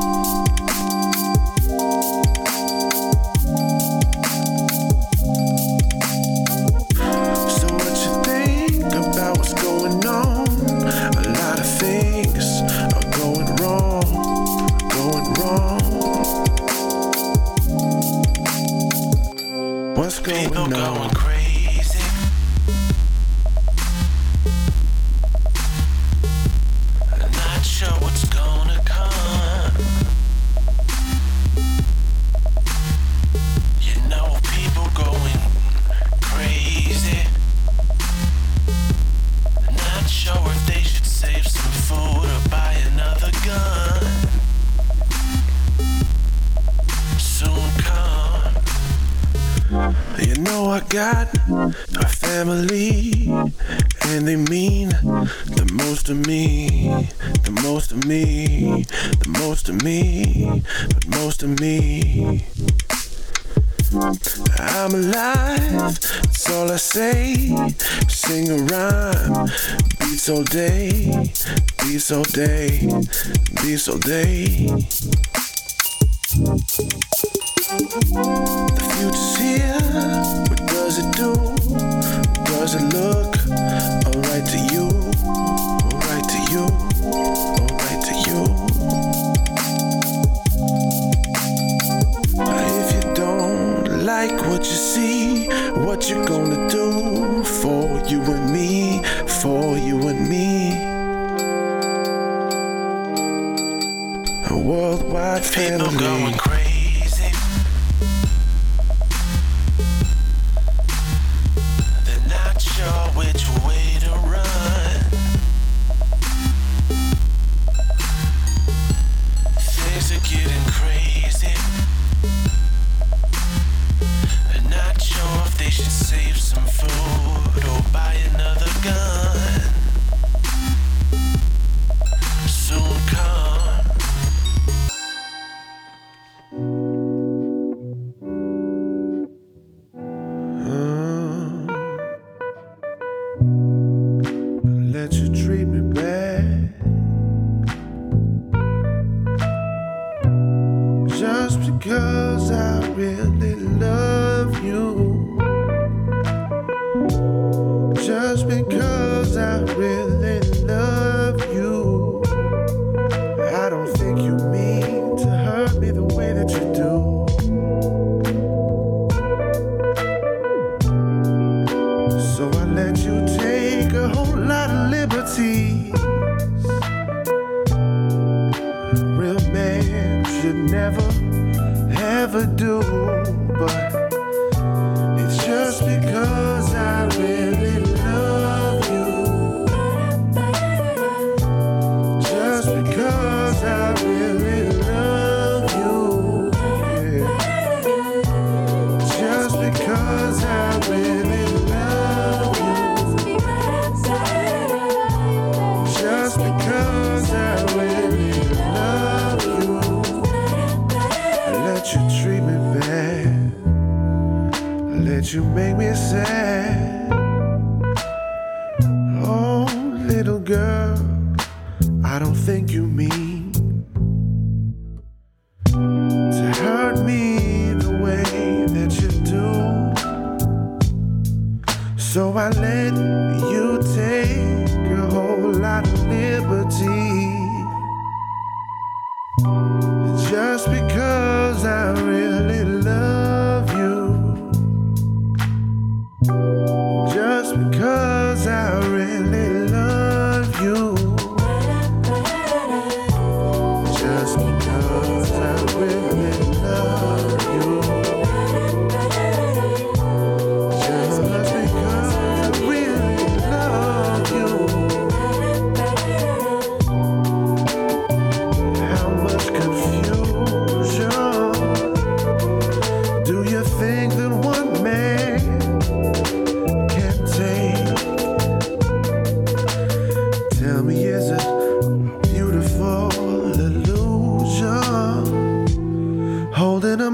So what you think about what's going on? A lot of things are going wrong, going wrong. What's going People on? Going crazy. Not sure what's gonna come. You know, people going crazy. Not sure if they should save some food or buy another gun. Soon come. You know I got a family, and they mean the most to me, the most to me, the most to me, but most to me. I'm alive, that's all I say. Sing a rhyme, beats all day, beats all day, beats all day. The future's here, what does it do? Does it look alright to you? Alright to you? Alright to you? If you don't like what you see, what you gonna do for you and me? For you and me? A worldwide family. People going crazy. Which way to run? Things are getting crazy. I'm not sure if they should save some food or buy another gun. Soon come. Let you treat me bad just because I really love you, just because I really love you. I don't think you mean to hurt me the way that you do. So I let you take a whole lot of liberties. Real man should never, ever do. But it's just because I really love you. Just because I really love you. Yeah. Just because I really love you. Just because I really love you, I let you treat me bad, I let you make me sad. Oh, little girl, I don't think you mean to hurt me the way that you do. So I let you take a whole lot of liberty. Just because I really love you. Just because I really love you.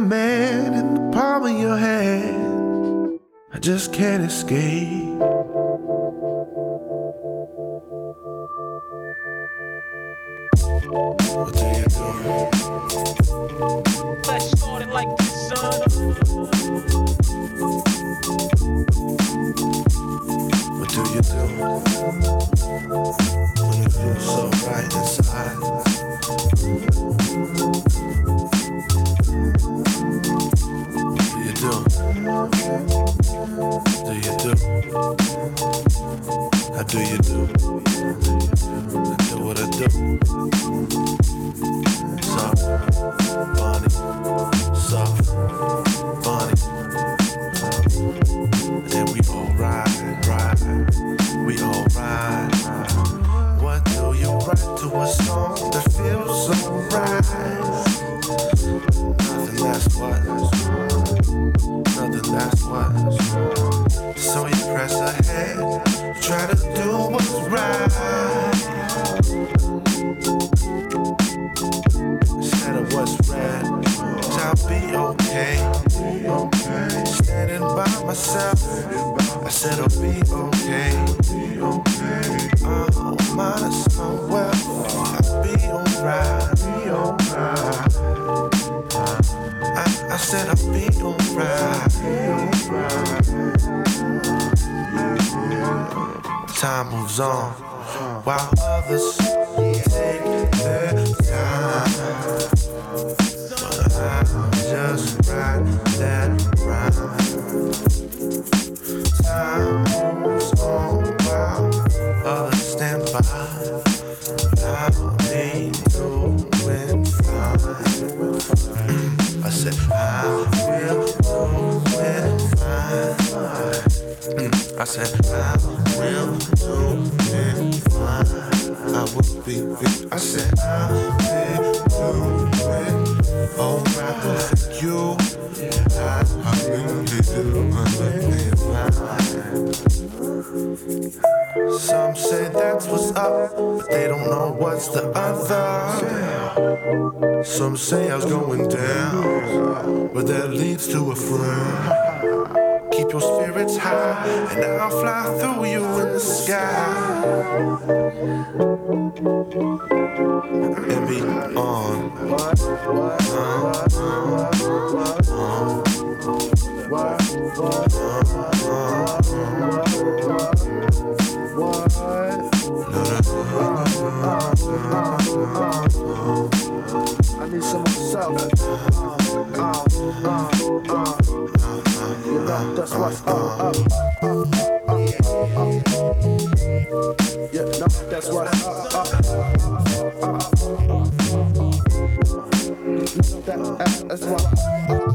man in the palm of your hand. I just can't escape. What do you do? Let's start it like this, son. What do you do when it feels so right inside? What do you do? Do you do? How do you do? I do what I do. Soft, Bonnie, soft, Bonnie. And we all ride, ride, we all ride. What do you write to a song that feels so right? Nothing, that's what, nothing, that's what. So you press ahead, try to do what's right. Instead of what's red, I'll be okay. Standing by myself, I said I'll be okay. Oh, minus my wealth, I'll be alright. I, I said I'll be alright. Time moves on while others take their time. But I'll just ride that ride. Time moves on while others stand by. I'll be doing fine. I said I will do it fine. I said I will do it fine. I will be, be. I said I will do it alright for you. I, I will be doing it fine. Some say that's what's up, but they don't know what's the other. Some say I was going down, but that leads to a friend. Keep your spirits high, and I'll fly through you in the sky. And be on. I need some myself. Uh, uh, uh. You know, that's what's up, up, up, up, up. Yeah, no, that's what's up, up, up, up. That, that's what's up, up,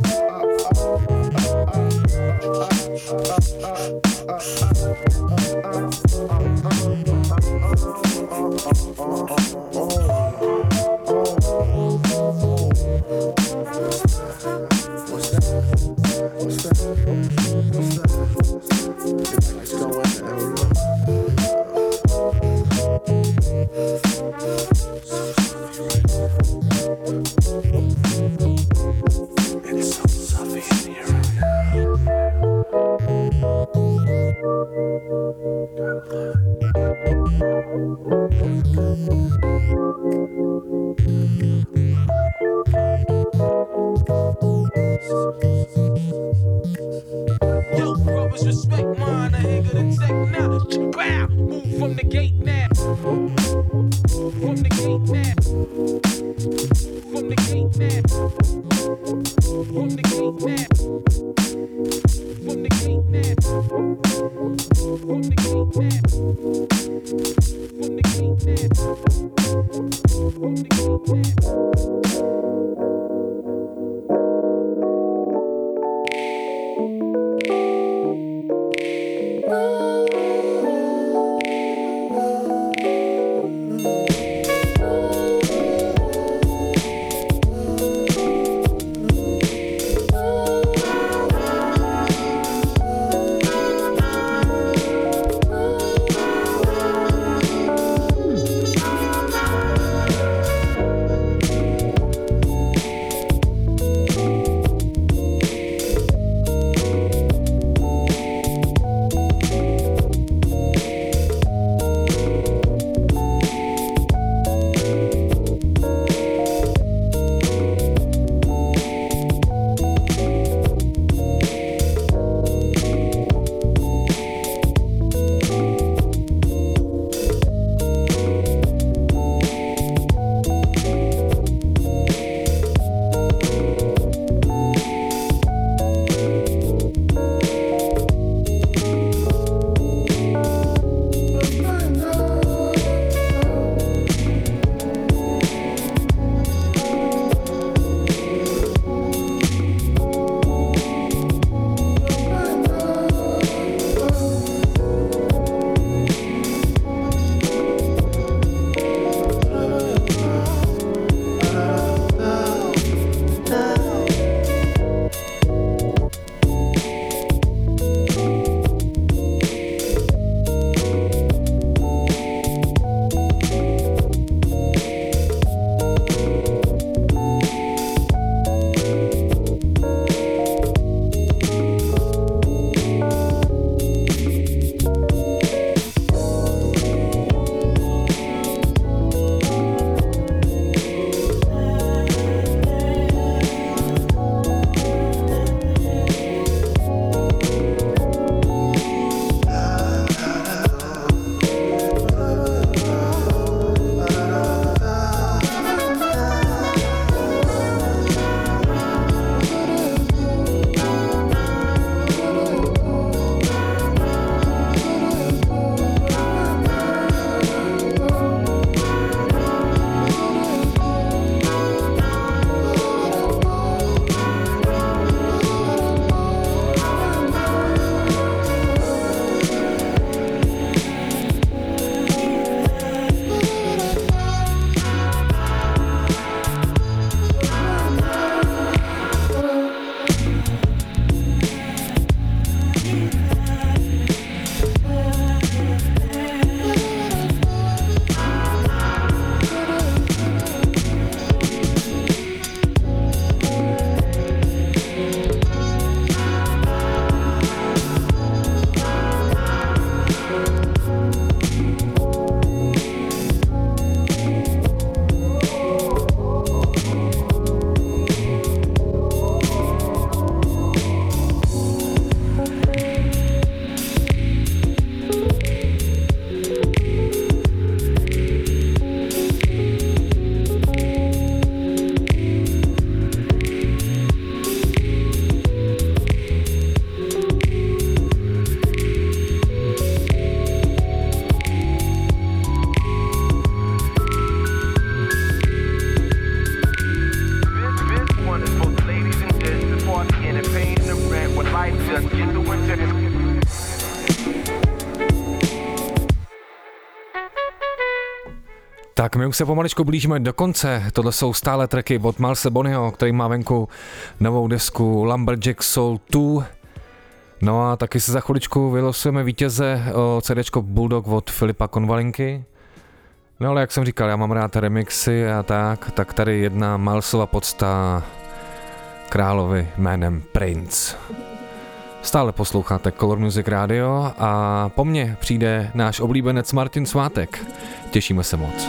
Tak my už se pomaličku blížíme do konce. Tohle jsou stále tracky od Milese Bonnyho, který má venku novou desku Lumberjack Soul dva. No a taky se za chviličku vylosujeme vítěze o CDčko Bulldog od Filipa Konvalinky. No ale jak jsem říkal, já mám rád remixy a tak, tak tady jedna Milesova podsta královi jménem Prince. Stále posloucháte Color Music Radio a po mně přijde náš oblíbenec Martin Svátek. Těšíme se moc.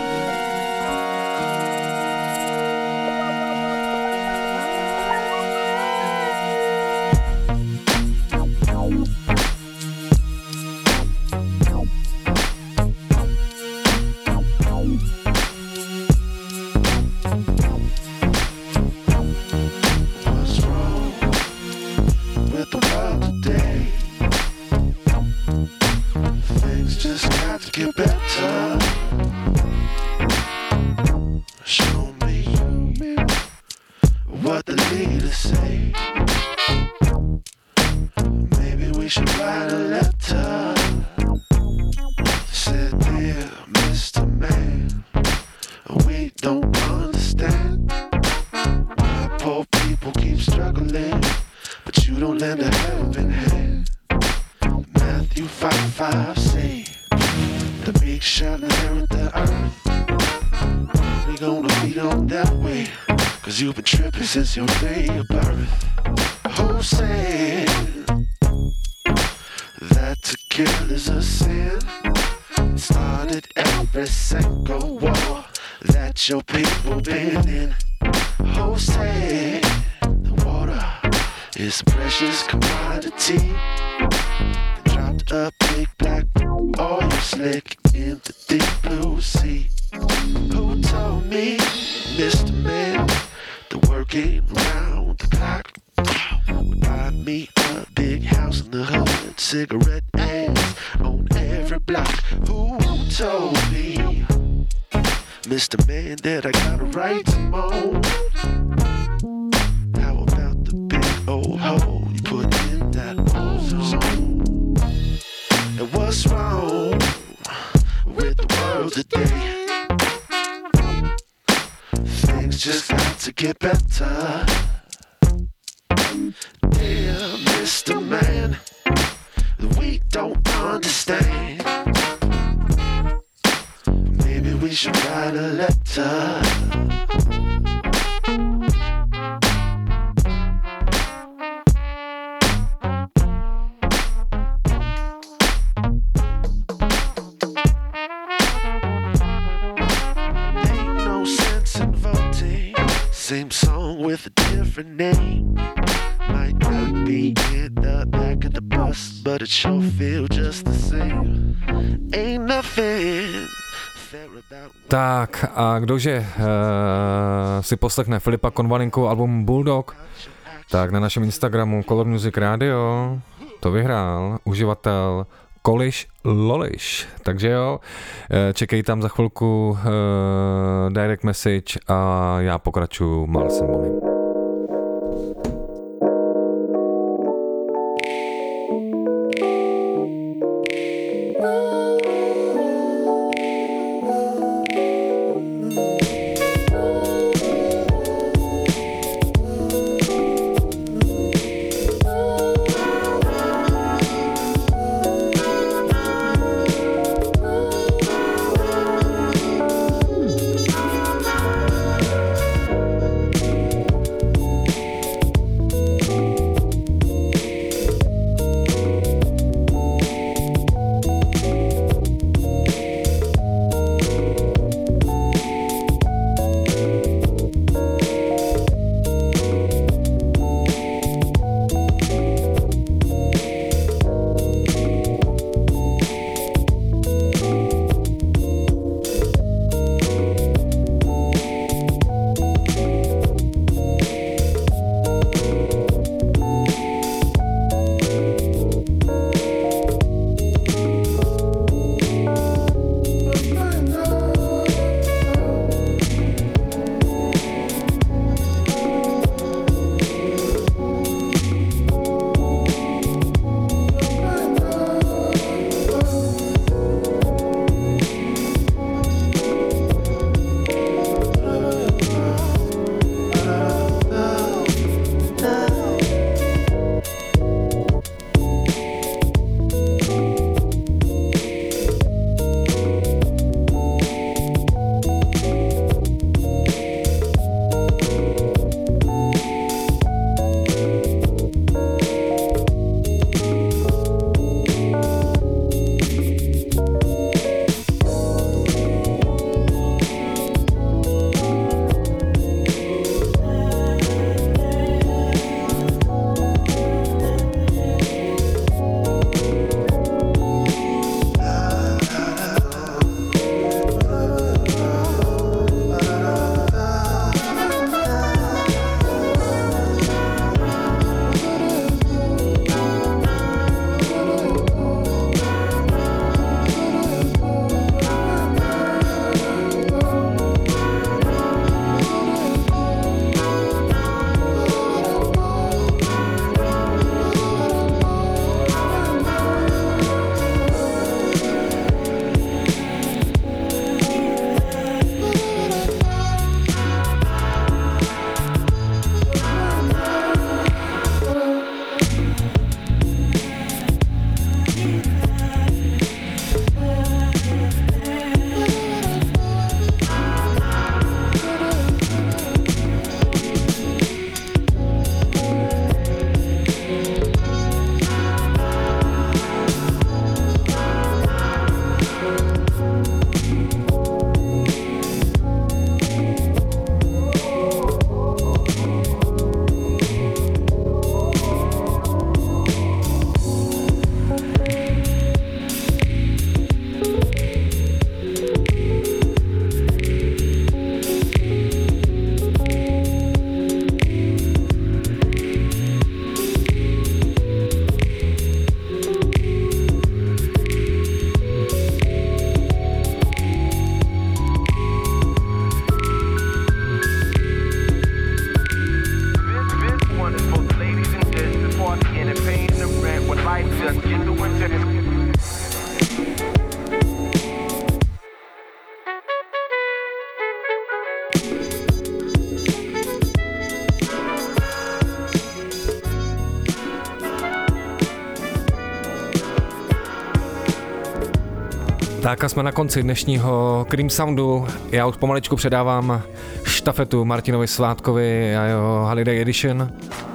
Since your day of birth, who said that to kill is a sin? It started every single war that your people been in. Who said the water is a precious commodity? They dropped a big black oil slick in the deep blue sea. Who told me, Mister Man, the working round the clock would buy me a big house in the hood, cigarette ads on every block? Who told me, Mister Man, that I got a right to moan? How about the big old hole you put in that ozone? And what's wrong with the world today? Things just got to get better. Dear Mister Man, we don't understand. Maybe we should write a letter. Same song with a different name. Might not be in the back of the bus, but it sure feel just the same. Ain't nothing fair about. Tak a kdože uh, si poslechne Filipa Konvalinku album Bulldog, tak na našem Instagramu Color Music Radio to vyhrál uživatel Koliš Loliš. Takže jo, čekej tam za chvilku uh, direct message a já pokračuju Milesem Bonnym. Tak a jsme na konci dnešního Cream Soundu. Já už pomaličku předávám štafetu Martinovi Svátkovi a jeho Holiday Edition.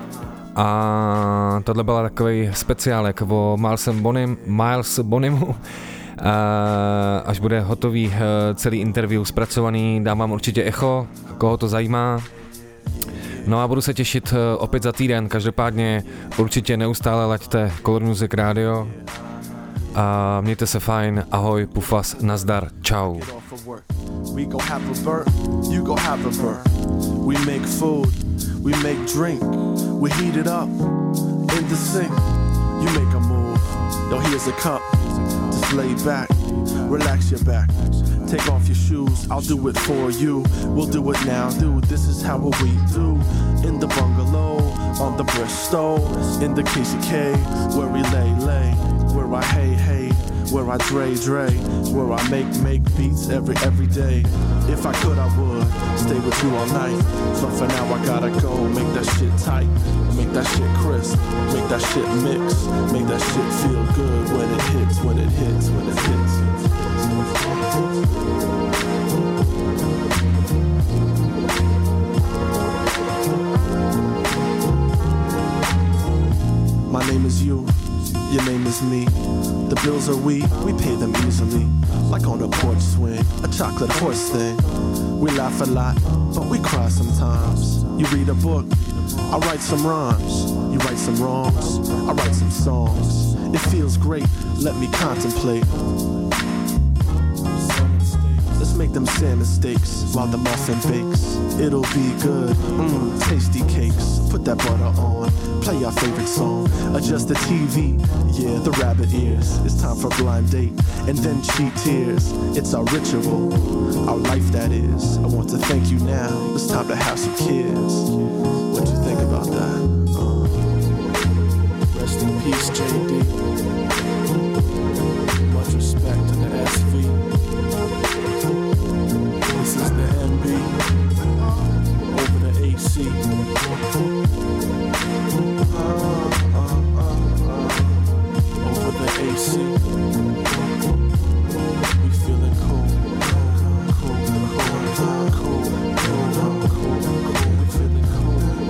A tohle byl takový speciálek o Milesem Bonim, Miles Bonimu. A až bude hotový celý interview zpracovaný, dám vám určitě echo, koho to zajímá. No a budu se těšit opět za týden, každopádně určitě neustále laďte Color Music Radio. A mějte se fajn, ahoj, pufas, nazdar, čau. We go have a birth, you go have a birth. We make food, we make drink, we heat it up in the sink. You make a move, yo, here's a cup. Just lay back, relax your back. Take off your shoes, I'll do it for you. We'll do it now, dude, this is how we do. In the bungalow, on the Bristol, in the K C K, where we lay, lay. Where I hey hey, where I dre dre, where I make make beats every every day. If I could I would stay with you all night, but for now I gotta go. Make that shit tight, make that shit crisp, make that shit mix, make that shit feel good when it hits, when it hits, when it hits. My name is you. Your name is me. The bills are we, we pay them easily. Like on a porch swing, a chocolate horse thing. We laugh a lot, but we cry sometimes. You read a book, I write some rhymes. You write some wrongs, I write some songs. It feels great, let me contemplate. Let's make them salmon steaks while the muffin bakes. It'll be good, mmm, tasty cakes. Put that butter on, play your favorite song. Adjust the T V, yeah, the rabbit ears. It's time for blind date, and then cheat tears. It's our ritual, our life that is. I want to thank you now, it's time to have some kids. What you think about that? Uh, rest in peace, J D. Much respect to the S V. This is the M B, over the A C. Uh, uh, uh, uh, over the A C. We feeling cool, cool, cool, cool, cool, cool, cool. We feeling cool.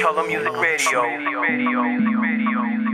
Color Music Radio. Radio. Radio.